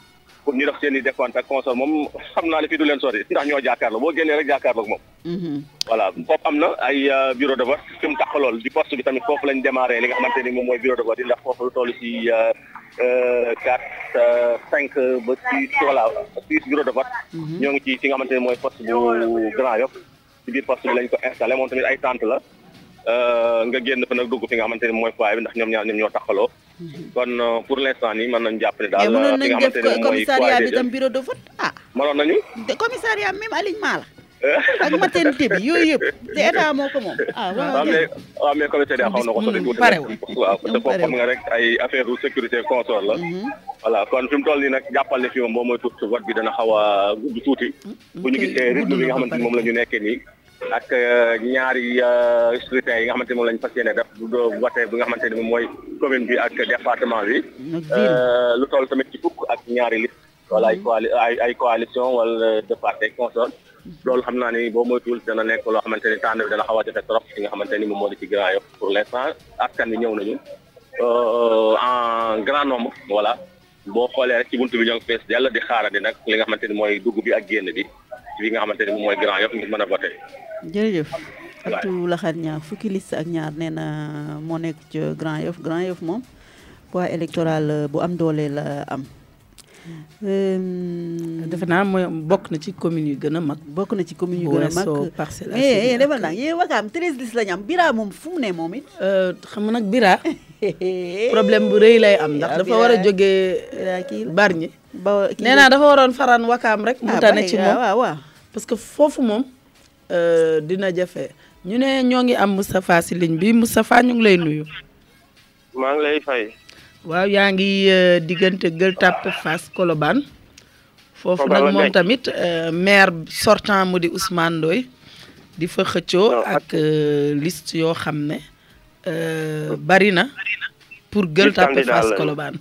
pour ñu def seen i décompte ak console moom xam naa ne fii du leen sori ndax ñoo jàkkaarloo boo génnee rek jàkkaarloo moom. voilà foofu am na ay bureau de vote fi mu taxalool di poste bi tamit foofu lañ démarré li nga xamante ni moom mooy bureau de vote yi ndax foofu lu toll si quatre cinq ba six voilà six bureau de vote. ñoo ngi ci fi nga xamante ni mooy poste bu Grand Yoff ci biir poste bi lañ ko installé moom tamit ay tente la nga génn fa nag dugg fi nga xamante ni mooy foyer bi ndax ñoom ñaar ñoom ñoo taxaloo. kon pour l'instant nii mën nañu jàpp ne daal fi nga xamante ne mooy commissariat bi tam bureau de vote ah. mënoon nañu. de commissariat même alignement la. ak maternité bi yooyu yëpp te état moo ko moom. ah waaw mais waaw mais commissariat xaw na ko sori tuuti. parewul waaw parce que foofu xam nga rek ay affaire de sécurité consort la. voilà kon fi mu toll nii nag jàppal ne fi moom boo mooy tuuti vote bi dana xaw a gudd tuuti. bu ñu gisee rythme bi nga xamante ni moom la ñu nekkee nii. ak ñaari scrutin yi nga xamante ni moom la ñu fas yéene def bu vote bi nga xamante ni moom mooy commune bi ak département bi. lu toll tamit ci fukk ak ñaari liste. wala ay coali ay ay coalition wala de parti consort loolu xam naa ni boo moytuwul dana nekk loo xamante ni tànn bi dana xaw a jafe trop li nga xamante ni moom moo di ci Grand Yoff pour l'instant askan bi ñëw nañu en grand nombre voilà boo xoolee rek ci buntu bi ñoo ngi fees dell di xaarandi nag li nga xamante ni mooy dugg bi ak génn bi ci li nga xamante ni moom mooy Grand Yoff ngir mën a voté. jërëjëf. Fatou Laxat ñaar fukki liste ak ñaar nee na moo nekk ci Grand Yoff Grand Yoff moom poids électoral bu am doole la am. defe naa mooy bokk na ci commune yu gën a mag. bokk na ci commune yu gën a mag Parcelles Assainies eh defal naa yéen Wakaam treize listes lañu am Bira moom fu mu ne moom it. xam nga nag Bira problème bu rëy lay am ndax dafa war a jógee Bargny. ba nee naa dafa waroon faran Wakaam rek. mu tane ci moom waaw waaw parce que foofu moom dina jafe ñu ne ñoo ngi am Moustapha si ligne bi Moustapha ñu ngi lay nuyu. maa ngi lay fay. waaw yaa ngi diggante Gueule Tapée Fass Colobane foofu nag moom tamit maire sortant mu di Ousmane Ndoye di fa xëccoo ak liste yoo xam ne bari na pour Gueule Tapée Fass Colobane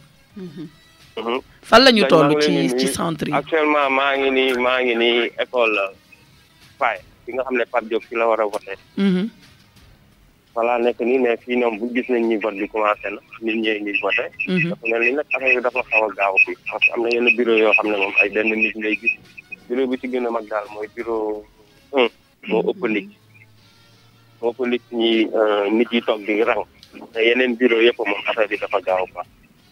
fan la ñu toll ci ci centre yi. actuellement maa ngi nii maa ngi nii école Faye fi nga xam ne Pape Diop fi la war a voté. voilà nekk nii mais fii ñoom bu gis nañ ni vote bi commencé na nit ñee ngi voté. dafa mel ni nag affaire bi dafa xaw a gaaw fii parce que am na yenn bureau yoo xam ne moom ay benn nit ngay gis bureau bi ci gën a mag daal mooy bureau un moo ëpp nit moo ëpp nit ñi nit yi toog di rang te yeneen bureau yëpp moom affaire bi dafa gaaw quoi.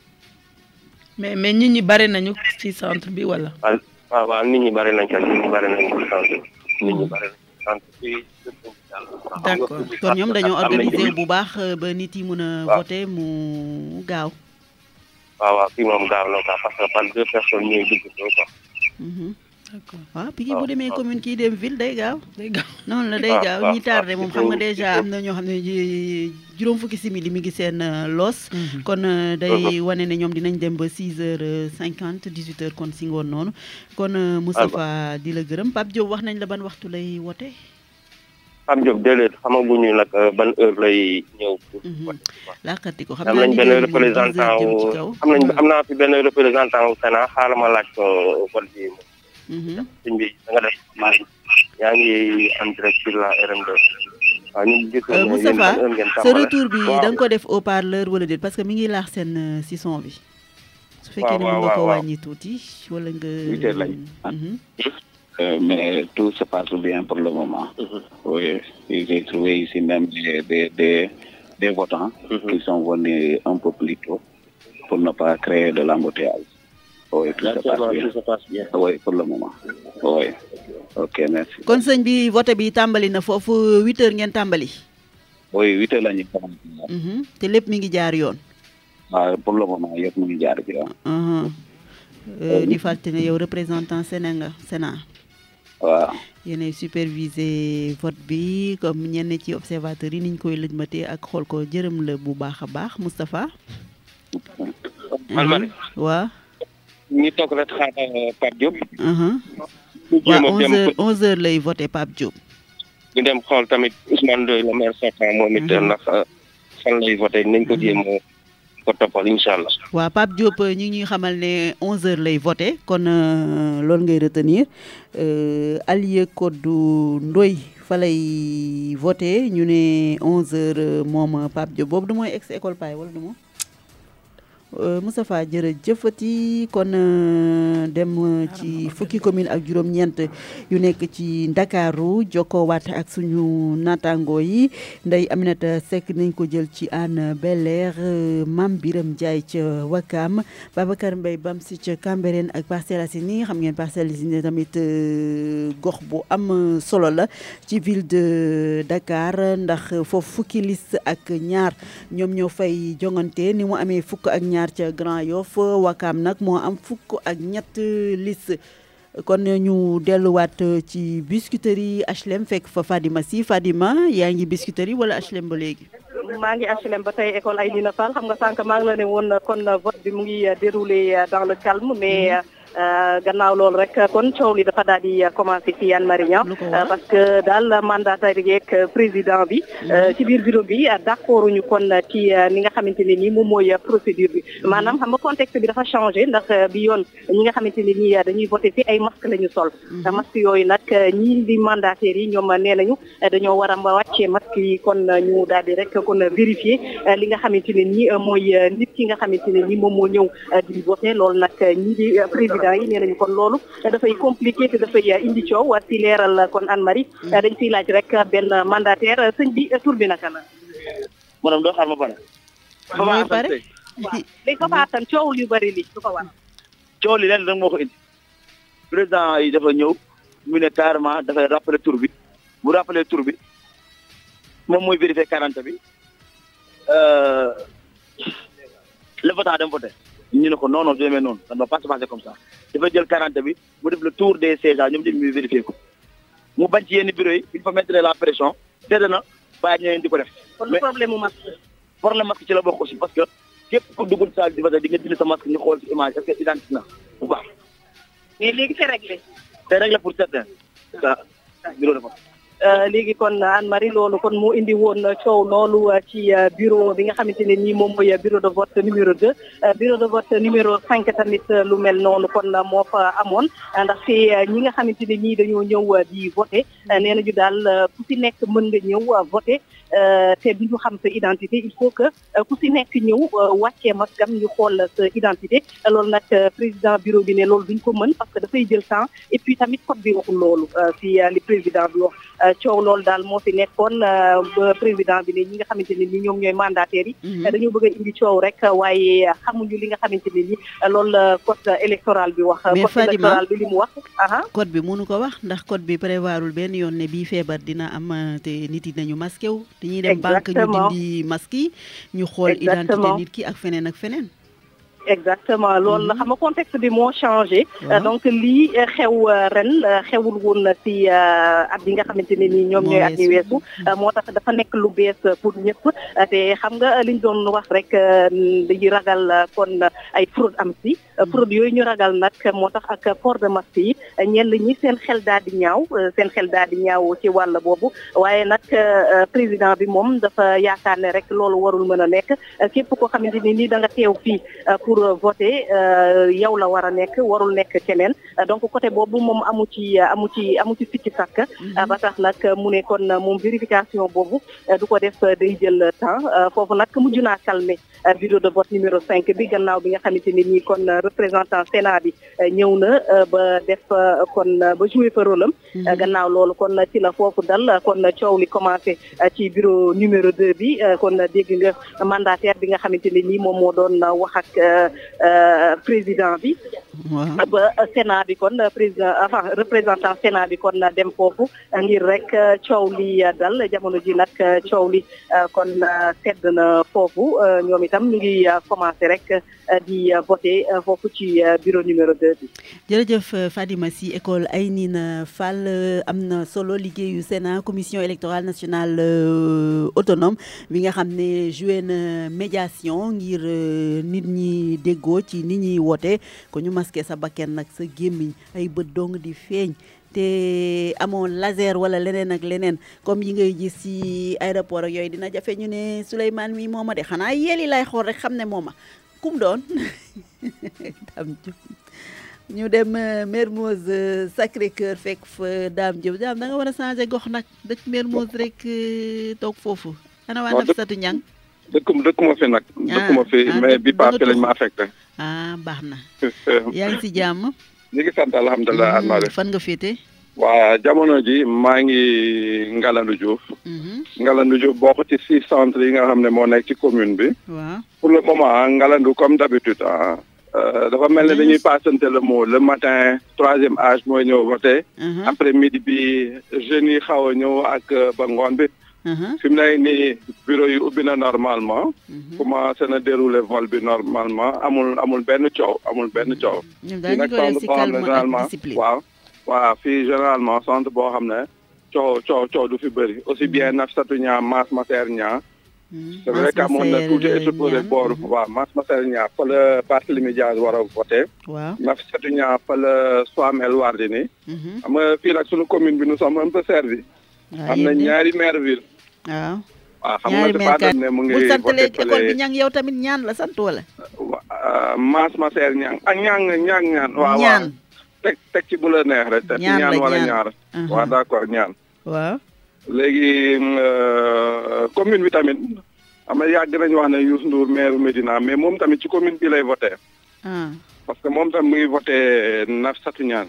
mais mais nit ñi bari nañu ci centre bi wala. waaw waaw waaw nit ñi bari nañ ca nit ñi bari nañ ci centre bi nit ñi bari nañ ci centre bi. d'accord kon ñoom dañoo organiser bu baax ba nit yi mën a voter mu gaaw. waaw waaw fii moom gaaw na quoi parce que par deux personnes ñooy dugg quoi. d'accord waaw Pikine bu demee commune kii dem ville day gaaw. day gaaw noonu la day gaaw ñi tardé moom xam nga déjà am na ñoo xam ne juróom fukki simili mi ngi seen loos. kon day wane ne ñoom dinañ dem ba six heures cinquante dix-huit heures kon si ngoon noonu. kon Moustapha di la gërëm Pape Diop wax nañ la ban waxtu lay wote. Pape Diop déedéet xamaguñu nag ban heure lay ñëw. laakati ko xam am nañ benn représentant wu am nañ am naa fi benn représentant wu Sénat xaaral ma laaj ko vote bi. sëñ bi da nga def maa yaa ngi en direct sur la R M deux. waaw ñu gis nañu Moustapha sa retour bi da nga ko def au parleur wala déet parce que mi ngi laax seen si son bi. su fekkee ne mën nga ko wàññi tuuti wala nga. huit heures lañ. Euh, mais tout se passe bien pour le moment. Mm-hmm. Oui, j'ai trouvé ici même des, des, des, des votants mm-hmm. qui sont venus un peu plus tôt pour ne pas créer de l'embouteillage. Oui, tout se passe bien. Tout se passe bien. Oui, pour le moment. Oui. Ok, merci. kon sëñ bi vote bi tàmbali na foofu huit heures ngeen tàmbali. Oui, huit heures la ñu tàmbali. te lépp mi ngi jaar yoon. waaw pour le moment yëpp mi ngi jaar ci yoon. di fàttali ne yow représentant Sénégal nga Sénat. waaw yéenay superviser vote bi comme ñenn ci observateurs yi niñ koy lëjmatee ak xool ko jërëm la bu baax a baax Moustapha. man ma ne. waaw. ñu toog rek xaar Pape Diop. waaw onze heures onze heures lay voté Pape Diop. ñu dem xool tamit Ousmane Ndoye le maire sortant moom it ndax fan lay voté nañ ko jéem ko toppal incha allah. waaw Pape Diop ñu ngi ñuy xamal ne onze heures lay voté kon loolu ngay retenir Alieu Kodou Ndoye fa lay voté ñu ne onze heures moom Pape Diop boobu du mooy ex école Paye wala du moom. Moustapha jërëjëfati kon dem ci fukki commune ak juróom-ñeent yu nekk ci Ndakaaru jokkoo waat ak suñu naataango yi Ndeye Aminata Seck nañ ko jël ci Hann Bel-Air Mame Biram Ndiaye ca Wakam Babacar Mbaye Bamsi ca Cambérène ak Parcelles Assainies xam ngeen Parcelles Assainies tamit gox bu am solo la ci ville de Dakar ndax foofu fukki liste ak ñaar ñoom ñoo fay jongante ni mu amee fukk ak ñaar ca Grand Yoff Wakam nag moo am fukk ak ñett liste kon ñu delluwaat ci Biscuiterie H L M fekk fa Fadima Sy Fadima yaa ngi Biscuiterie wala H L M ba léegi. maa ngi H L M ba tey école Aïdina Fall xam nga sànq maa ngi la ne woon kon vote bi mu ngi déroulé dans le calme mais. gannaaw loolu rek kon coow li dafa daal di commencé ci Anne Marie Niang parce que daal mandataire yeeg président bi ci biir bureau bi d'accord ñu kon ci ni nga xamante ne nii moom mooy procédure bi maanaam xam nga contexte bi dafa changé ndax bi yoon ñi nga xamante ne nii dañuy voté ci ay masque la ñu sol masque yooyu nag ñii di mandataires yi ñoom nee nañu dañoo war a wàccee masque yi kon ñu daal di rek kon vérifier li nga xamante ne nii mooy nit ki nga xamante ne nii moom moo ñëw di voté loolu nag ñii di président yi nee nañu kon loolu dafay compliqué te dafay indi coow war si leeral kon Anne Marie dañ fiy laaj rek benn mandataire sëñ bi tur bi naka la. maanaam doo xaar ma pare. mooy pare waaw léegi fa faatan coow yu bëri li du ko war. coow li leen rek moo ko indi président yi dafa ñëw mu ne carrément dafay rappeler tur bi bu rappeler tur bi moom mooy vérifier quarante bi le votant dem voté. ñu ne ko non non du demee noonu ça ne va pas se passer comme ça dafa jël quarante bi mu def le tour des sièges ñoom ñëpp ñu vérifier ko mu bañ ci yenn bureau yi il faut mettre la pression tedd na bàyyi ñeneen di ko def. kon lu problème mu masque. problème masque ci la bokk aussi parce que képp ku dugul salle di vote di nga dindi sa masque ñu xool ci image est-ce que identique na bu baax. mais léegi c'est réglé. c'est réglé pour certains ça bureau de vote. léegi kon Anne Marie loolu kon moo indi woon coow loolu ci bureau bi nga xamante ne nii moom mooy bureau de vote numéro deux bureau de vote numéro cinq tamit lu mel noonu kon moo fa amoon ndax fi ñi nga xamante ne nii dañoo ñëw di voté nee nañu daal ku si nekk mën nga ñëw voté te du ñu xam sa identité il faut que ku si nekk ñëw wàccee maskam ñu xool sa identité loolu nag président bureau bi ne loolu duñ ko mën parce que dafay jël temps et puis tamit code bi waxul loolu si li président bi wax coow loolu daal moo fi nekkoon ba président bi ne ñi nga xamante ne ni ñoom ñooy mandataires yi dañoo bëgg a indi coow rek waaye xamuñu li nga xamante ne ni loolu la code électoral bi wax code électoral bi li mu wax code bi mënu ko wax ndax code bi prévoirul benn yoon ne bii feebar dina am te nit yi nañu masqué wu dañuy dem banque ñu dindi masque yi ñu xool identité nit ki ak feneen ak feneen exactement loolu la xam nga contexte bi moo changé donc lii xew ren xewul woon ci at yi nga xamante ne nii ñoom ñooy at yi weesu moo tax dafa nekk lu bees pour ñëpp te xam nga liñ doon wax rek dañuy ragal kon ay fraude am si fraude yooyu ñu ragal nag moo tax ak port de masque yi ñenn ñi seen xel daal di ñaaw seen xel daal di ñaaw ci wàll boobu waaye nag président bi moom dafa yaakaar ne rek loolu warul mën a nekk képp koo xamante ne nii da nga teew fii pour voter yow la war a nekk warul nekk keneen donc côté boobu moom amu ci amu ci amu ci fikki sàkk ba tax nag mu ne kon moom vérification boobu du ko def day jël temps foofu nag mujj naa calmer bureau de vote numéro cinq bi gannaaw bi nga xamante ne nii kon représentant Sénat bi ñëw na ba def kon ba jouer fa rôle am gannaaw loolu kon ci la foofu dal kon coow li commencé ci bureau numéro deux bi kon dégg nga mandataire bi nga xamante ne nii moom moo doon wax ak président bi ba Sénat bi kon président enfin représentant Sénat bi kon dem foofu ngir rek coow li dal jamono ji nag coow li kon sedd na foofu ñoom itam ñu ngi commencé rek di voter foofu ci bureau numéro deux bi. jërëjëf Fadima Sy école Aïnina Fall am na solo liggéeyu Sénat commission électorale nationale autonome bi nga xam ne joué na médiation ngir nit ñi déggoo ci nit ñuy woote ko ñu masqué sa bakken nag sa gémmiñ ay bët dong di feeñ te amoon laser wala leneen ak leneen comme yi ngay gis ci aéroport ak yooyu dina jafe ñu ne Souleymane mi mooma de xanaa yéeli lay xool rek xam ne mooma kum doon Dame Diop ñu dem Mermoz Sacré-Cœur fekk fa Dame Diop Dame da nga war a changer gox nag dëkk Mermoz rek toog foofu ana waa Nafissatou Niang dëkkuma dëkkuma fi nag. dëkkuma fi mais bi paase lañ ma affecté. ah baax na. yaa ngi si jàmm. ñu ngi sant alhamdulilah. alhamdulilah fan nga féete. waa jamono ji maa ngi Ngalandou Diouf. Ngalandou Diouf bokk ci six centres yi nga xam ne moo nekk ci commune bi. waaw pour le moment Ngalandou comme d'habitude ah. dafa mel ne dañuy passante le mot le matin troisième âge mooy ñëw voté. après midi bi jeunes yi xaw a ñëw ak ba ngoon bi. fi mu ne nii bureau yi ubbi na normalement. commencé na dérouler vol bi normalement amul amul benn coow amul benn coow. ñun dañu ko def si calme ak discipline waaw. waaw fii généralement centre boo xam ne coow coow coow du fi bëri aussi bien Nafissatou Niang Mass Masser Niang. c'est vrai que amoon na tuuti exposé booru waaw Mass Masser Niang fa la Barthélémy Dias war a voté. waaw Nafissatou Niang fa la Soham El Wardini. xam nga fii nag sunu commune bi nous sommes un peu servi. am na ñaari maire ville. waaw waaw xam nga dafa doon ne mu ngi bu sant voté léegi école bi ñang yow tamit ñaan la sant wala. Mass Masser Niang ak ñang ñang ñaan. waaw ñaan teg teg ci bu la neex rek. te ñaan la ñaan wala ñaar. waaw d'accord ñaan. waaw. léegi commune bi tamit am na yàgg nañu wax ne Youssou Ndour maire Médina mais moom tamit ci commune bi lay voté. parce que moom tamit mu ngi voté Nafissatou Niang.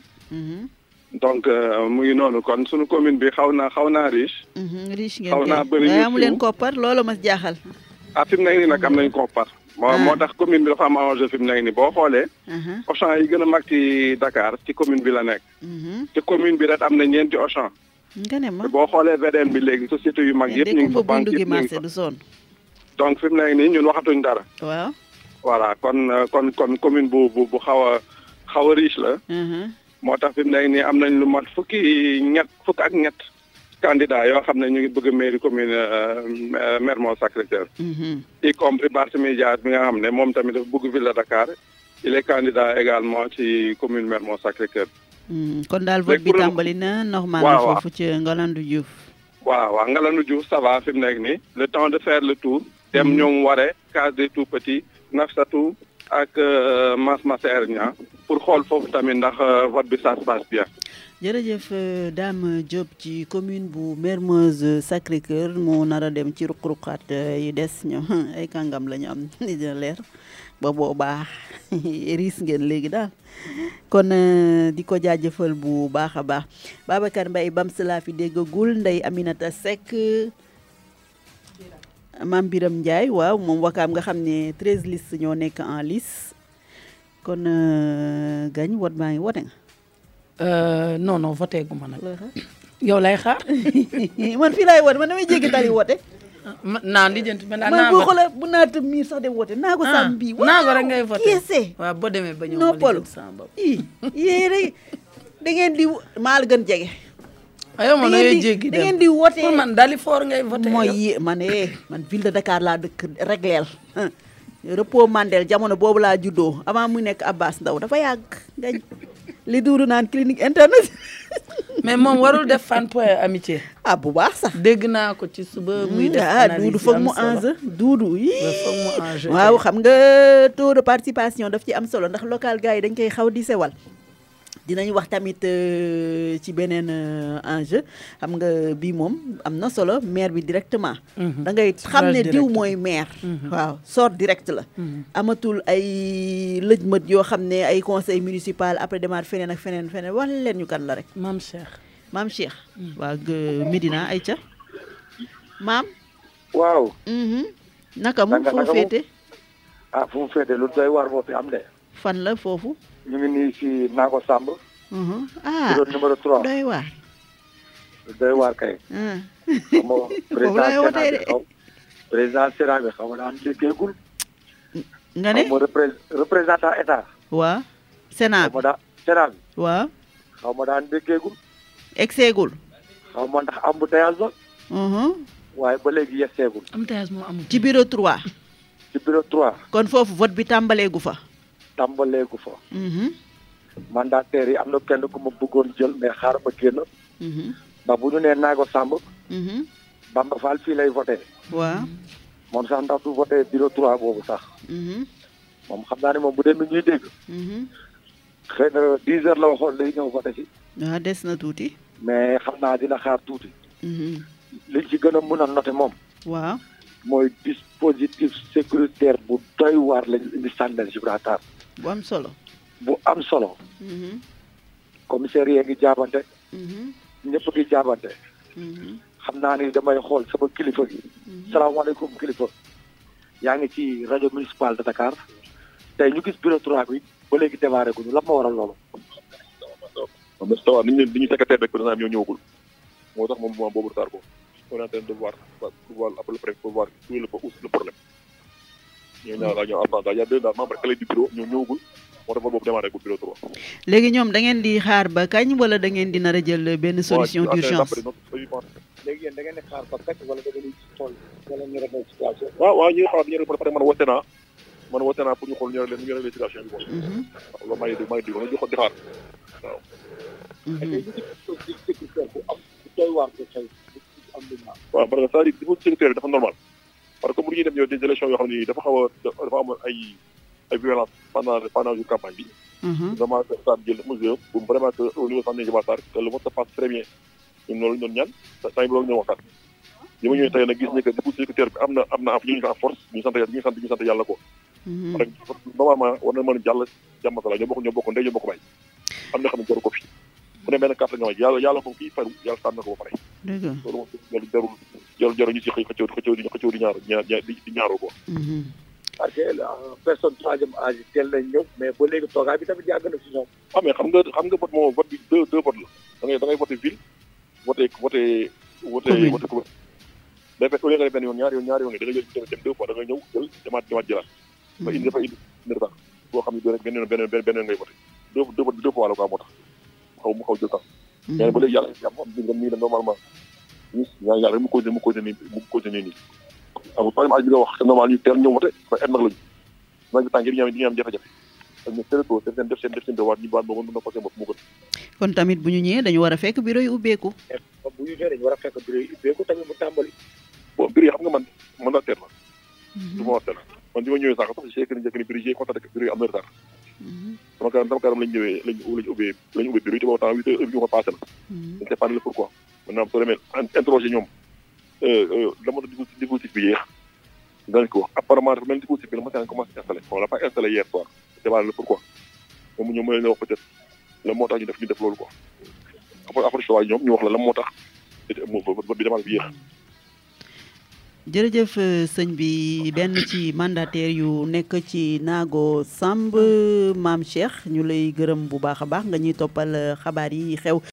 donc mu ngi noonu kon sunu commune bi xaw naa xaw naa riche. riche ngeen xaw naa bëri ñu amu leen koppar loolu ma jaaxal. ah fi mu nekk nii nag am nañ koppar. moo moo tax commune bi dafa am enjeu fi mu nekk nii boo xoolee. Auchan yi gën a mag ci Dakar ci commune bi la nekk. te commune bi rek am na ñeenti Auchan. nga ne ma boo xoolee V D N bi léegi société yu mag yëpp ñu ngi fa banque yëpp ñu ngi fa du sonn. donc fi mu nekk nii ñun waxatuñ dara. waaw. voilà kon kon kon commune bu bu bu xaw a xaw a riche la. moo tax fi mu nekk nii am nañ lu mat fukki ñett fukk ak ñett candidat yoo xam ne ñu ngi bëgg mairie commune Mermoz Sacré-Cœur. y compris Barthélémy Dias bi nga xam ne moom tamit dafa bëgg ville de Dakar il est candidat également ci commune Mermoz Sacré-Cœur. kon daal vote bi tàmbali na normal na foofu ci Ngalandou Diouf. waaw waaw Ngalandou Diouf ça va fi mu nekk nii le temps de faire le tour. dem ñoom waree case des tout petits Nafissatou ak Mass Masser Niang pour xool foofu tamit ndax vote bi ça se passe bien. jërëjëf Dame Diop ci commune bu Mermoz Sacré-Cœur moo nar a dem ci ruq-ruqaat yi des ñoom ay kàngam la ñu am dina leer ba boobaa riis ngeen léegi daal kon di ko jaajëfal bu baax a baax Babacar Mbaye Bams laa fi déggagul Ndeye Aminata Seck Mame Biram Ndiaye waaw moom wakaam nga xam ne treize listes ñoo nekk en lice kon gañ wot maa ngi wote nga non non voté gu ma nag yow lay xaar man fii laay wote man damay jéggi tali wote naan li jënt man man bu xoolee bu naata miir sax dem wote naa ko sàmm bii naa ko rek ngay voté keese waaw boo demee ba ñëw noppalu i yéen rek da ngeen di maa la gën jege ayo man ngay jéggi da ngeen di wote pour man dali foor ngay voté mooy yi man eh man ville de Dakar laa dëkk regleel repos Mandel jamono boobu laa juddoo avant muy nekk Abbas Ndaw dafa yàgg ngañ li duudu naan clinique internet mais moom warul def fan point amitié ah bu baax sax dégg naa ko ci suba muy def ah duudu foog mu enjeu duudu yi foog mu enjeu waaw xam nga taux de participation daf ci am solo ndax local gars yi dañ koy xaw di sewal dinañ wax tamit ci beneen enjeu xam nga bii moom am na solo maire bi directement da ngay xam ne diw mooy maire waaw sort direct la amatul ay lëjmët yoo xam ne ay conseil municipal après demaat feneen ak feneen feneen wax leen ñu kan la rek Mame Cheikh Mame Cheikh waaw Médina ay ca maam waaw naka mu fu mu féete ah fu mu féete lu doy waar moo fi am de fan la foofu ñu ngi nii si Nago Samb. ah bureau numéro trois. doy waar. doy waar kay. xam nga président Sénat bi xaw président Sénat bi xaw ma daan déggeegul. nga ne xaw ma représentant état. waaw Sénat xaw ma daan Sénat bi. waaw. xaw ma daan déggeegul. egseegul. xaw ma ndax embouteillage la. waaye ba léegi yegseegul. embouteillage moo amul. ci bureau trois. ci bureau trois. kon foofu vote bi tàmbaleegu fa. tàmbaleegu fa. mandataires yi am na kenn ku ma bëggoon jël mais xaar ma génn. ndax bu ñu nee Nago Samb. Bamba Fall fii lay voté. waaw. moom sax ndax du voté bureau trois boobu sax. moom xam naa ne moom bu dee mi ñuy dégg. xëy na dix heures la waxoon lay ñëw voté si. waaw des na tuuti. mais xam naa dina xaar tuuti. liñ ci gën a mën a noté moom. waaw. mooy dispositif sécuritaire bu doy waar lañu indi sànnal Gibraltar. bu am solo. bu am solo. commissaire yee ngi jaabante. ñëpp ngi jaabante. xam naa ni damay xool sama kilifa gi. salaamaaleykum kilifa. yaa ngi ci rajo municipal de Dakar. tey ñu gis bureau trois bi ba léegi démarré guñu lan moo waral loolu. waaw mais tawa niñ leen di ñu secrétaire rek président ñoo ñëwagul moo tax moom moom boobu retard ko on est en train de voir pour voir après le préfet pour voir où est le le problème ñoo ñaa laa ñoo avant daal y a deux daal membre clé du bureau ñoo ñëwagul moo tax boobu démarré gul bureau trois. léegi ñoom da ngeen di xaar ba kañ wala da ngeen di nar a jël benn solution d'urgence. léegi yéen da ngeen di xaar ba kañ wala da ngeen di xool wala ñu régler situation. waaw waaw ñu ngi xaar ñu régler parce que man woote naa man woote naa pour ñu xool ñu régler ñu régler situation bi quoi. waaw loolu maa ngi dégg maa ngi dégg ñu xool di xaar waaw. waaw parce que c'est-à-dire niveau sécuritaire bi dafa normal parce que bu ñuy dem yow des élections yoo xam ne dafa xaw a dafa amoon ay ay violence pendant pendant jour campagne bi. vraiment ça jël mesure pour vraiment que au niveau centre Gibraltar que le vote se passe très bien ñun loolu ñu doon ñaan saa yi loolu ñu waxtaan. li ma ñëwee tey nag gis ne que niveau sécuritaire bi am na am na ñu ngi en force ñu sant ñu sant ñu sant yàlla ko. parce que normalement war na mën a jàll jàmm sala ñoo bokk ñoo bokk ndey ñoo bokk bay am na xam ne jaru ko fi bu ne benn carte nga wax yàlla yàlla ko kii faru yàlla tànn na ko ba pare. dëgg la loolu moom jarul jarul jarul ñu si xëy xëccoo xëccoo di xëccoo di ñaar ñaar di ñaaroo ko. parce que personne troisième âge teel nañ ñëw mais ba léegi toogaay bi tamit yàgg na si ñoom. ah mais xam nga xam nga vote moom vote bi deux deux vote la da ngay da ngay voté ville voté voté. voté voté commune. day fekk au lieu nga def benn yoon ñaar yoon ñaar yoon da ngay jël dem deux fois da ngay ñëw jël demaat demaat jëlaat. ba indi dafa indi indi retard boo xam ne doo rek benn yoon benn benn yoon ngay voté deux deux deux fois la quoi moo tax xaw mu xaw jël temps. mais ba léegi yàlla jàmm am nañu nii la normalement ñu ñaan yàlla mu continué mu continué nii mu continué nii. amul problème bi nga wax c'est normal ñu teel ñëw wote ba et nag lañu naaj bi tànk yi di ñu am jafe-jafe ak ñu teel ko def seen def seen def seen devoir ñu baal moo mën na ko seen bopp mu gën. kon tamit bu ñu ñëwee dañu war a fekk bureau yi ubbeeku. bu ñu ñëwee dañu war a fekk bureau yi ubbeeku tamit mu tàmbali. bon bureau yi xam nga man man la teer la. du ma wax teer man bi ma ñëwee sax sax si que ni njëkk ni bureau yi constaté que bureau yi am na retard. sama karam sama karam lañ ñëwee lañ lañ ubbee lañ ubbee bureau yi te boobu temps huit heures ñu ko passé na. dañ sait pas le pourquoi maintenant soo demee interroger ñoom dama doon dispositif bi yéex dañ ko wax apparemment dafa mel ni dispositif bi la ma commencé installé on l'a pas installé hier soir c'est pas le pourquoi moom ñoom mën nañu wax peut-être la moo tax ñu def ñu def loolu quoi après après soit ñoom ñu wax la la moo tax vote bi démarré bi yéex. jërëjëf sëñ bi benn ci mandataire yu nekk ci Naago Samb Maam Cheikh ñu lay gërëm bu baax a baax nga ñuy toppal xabaar yi xew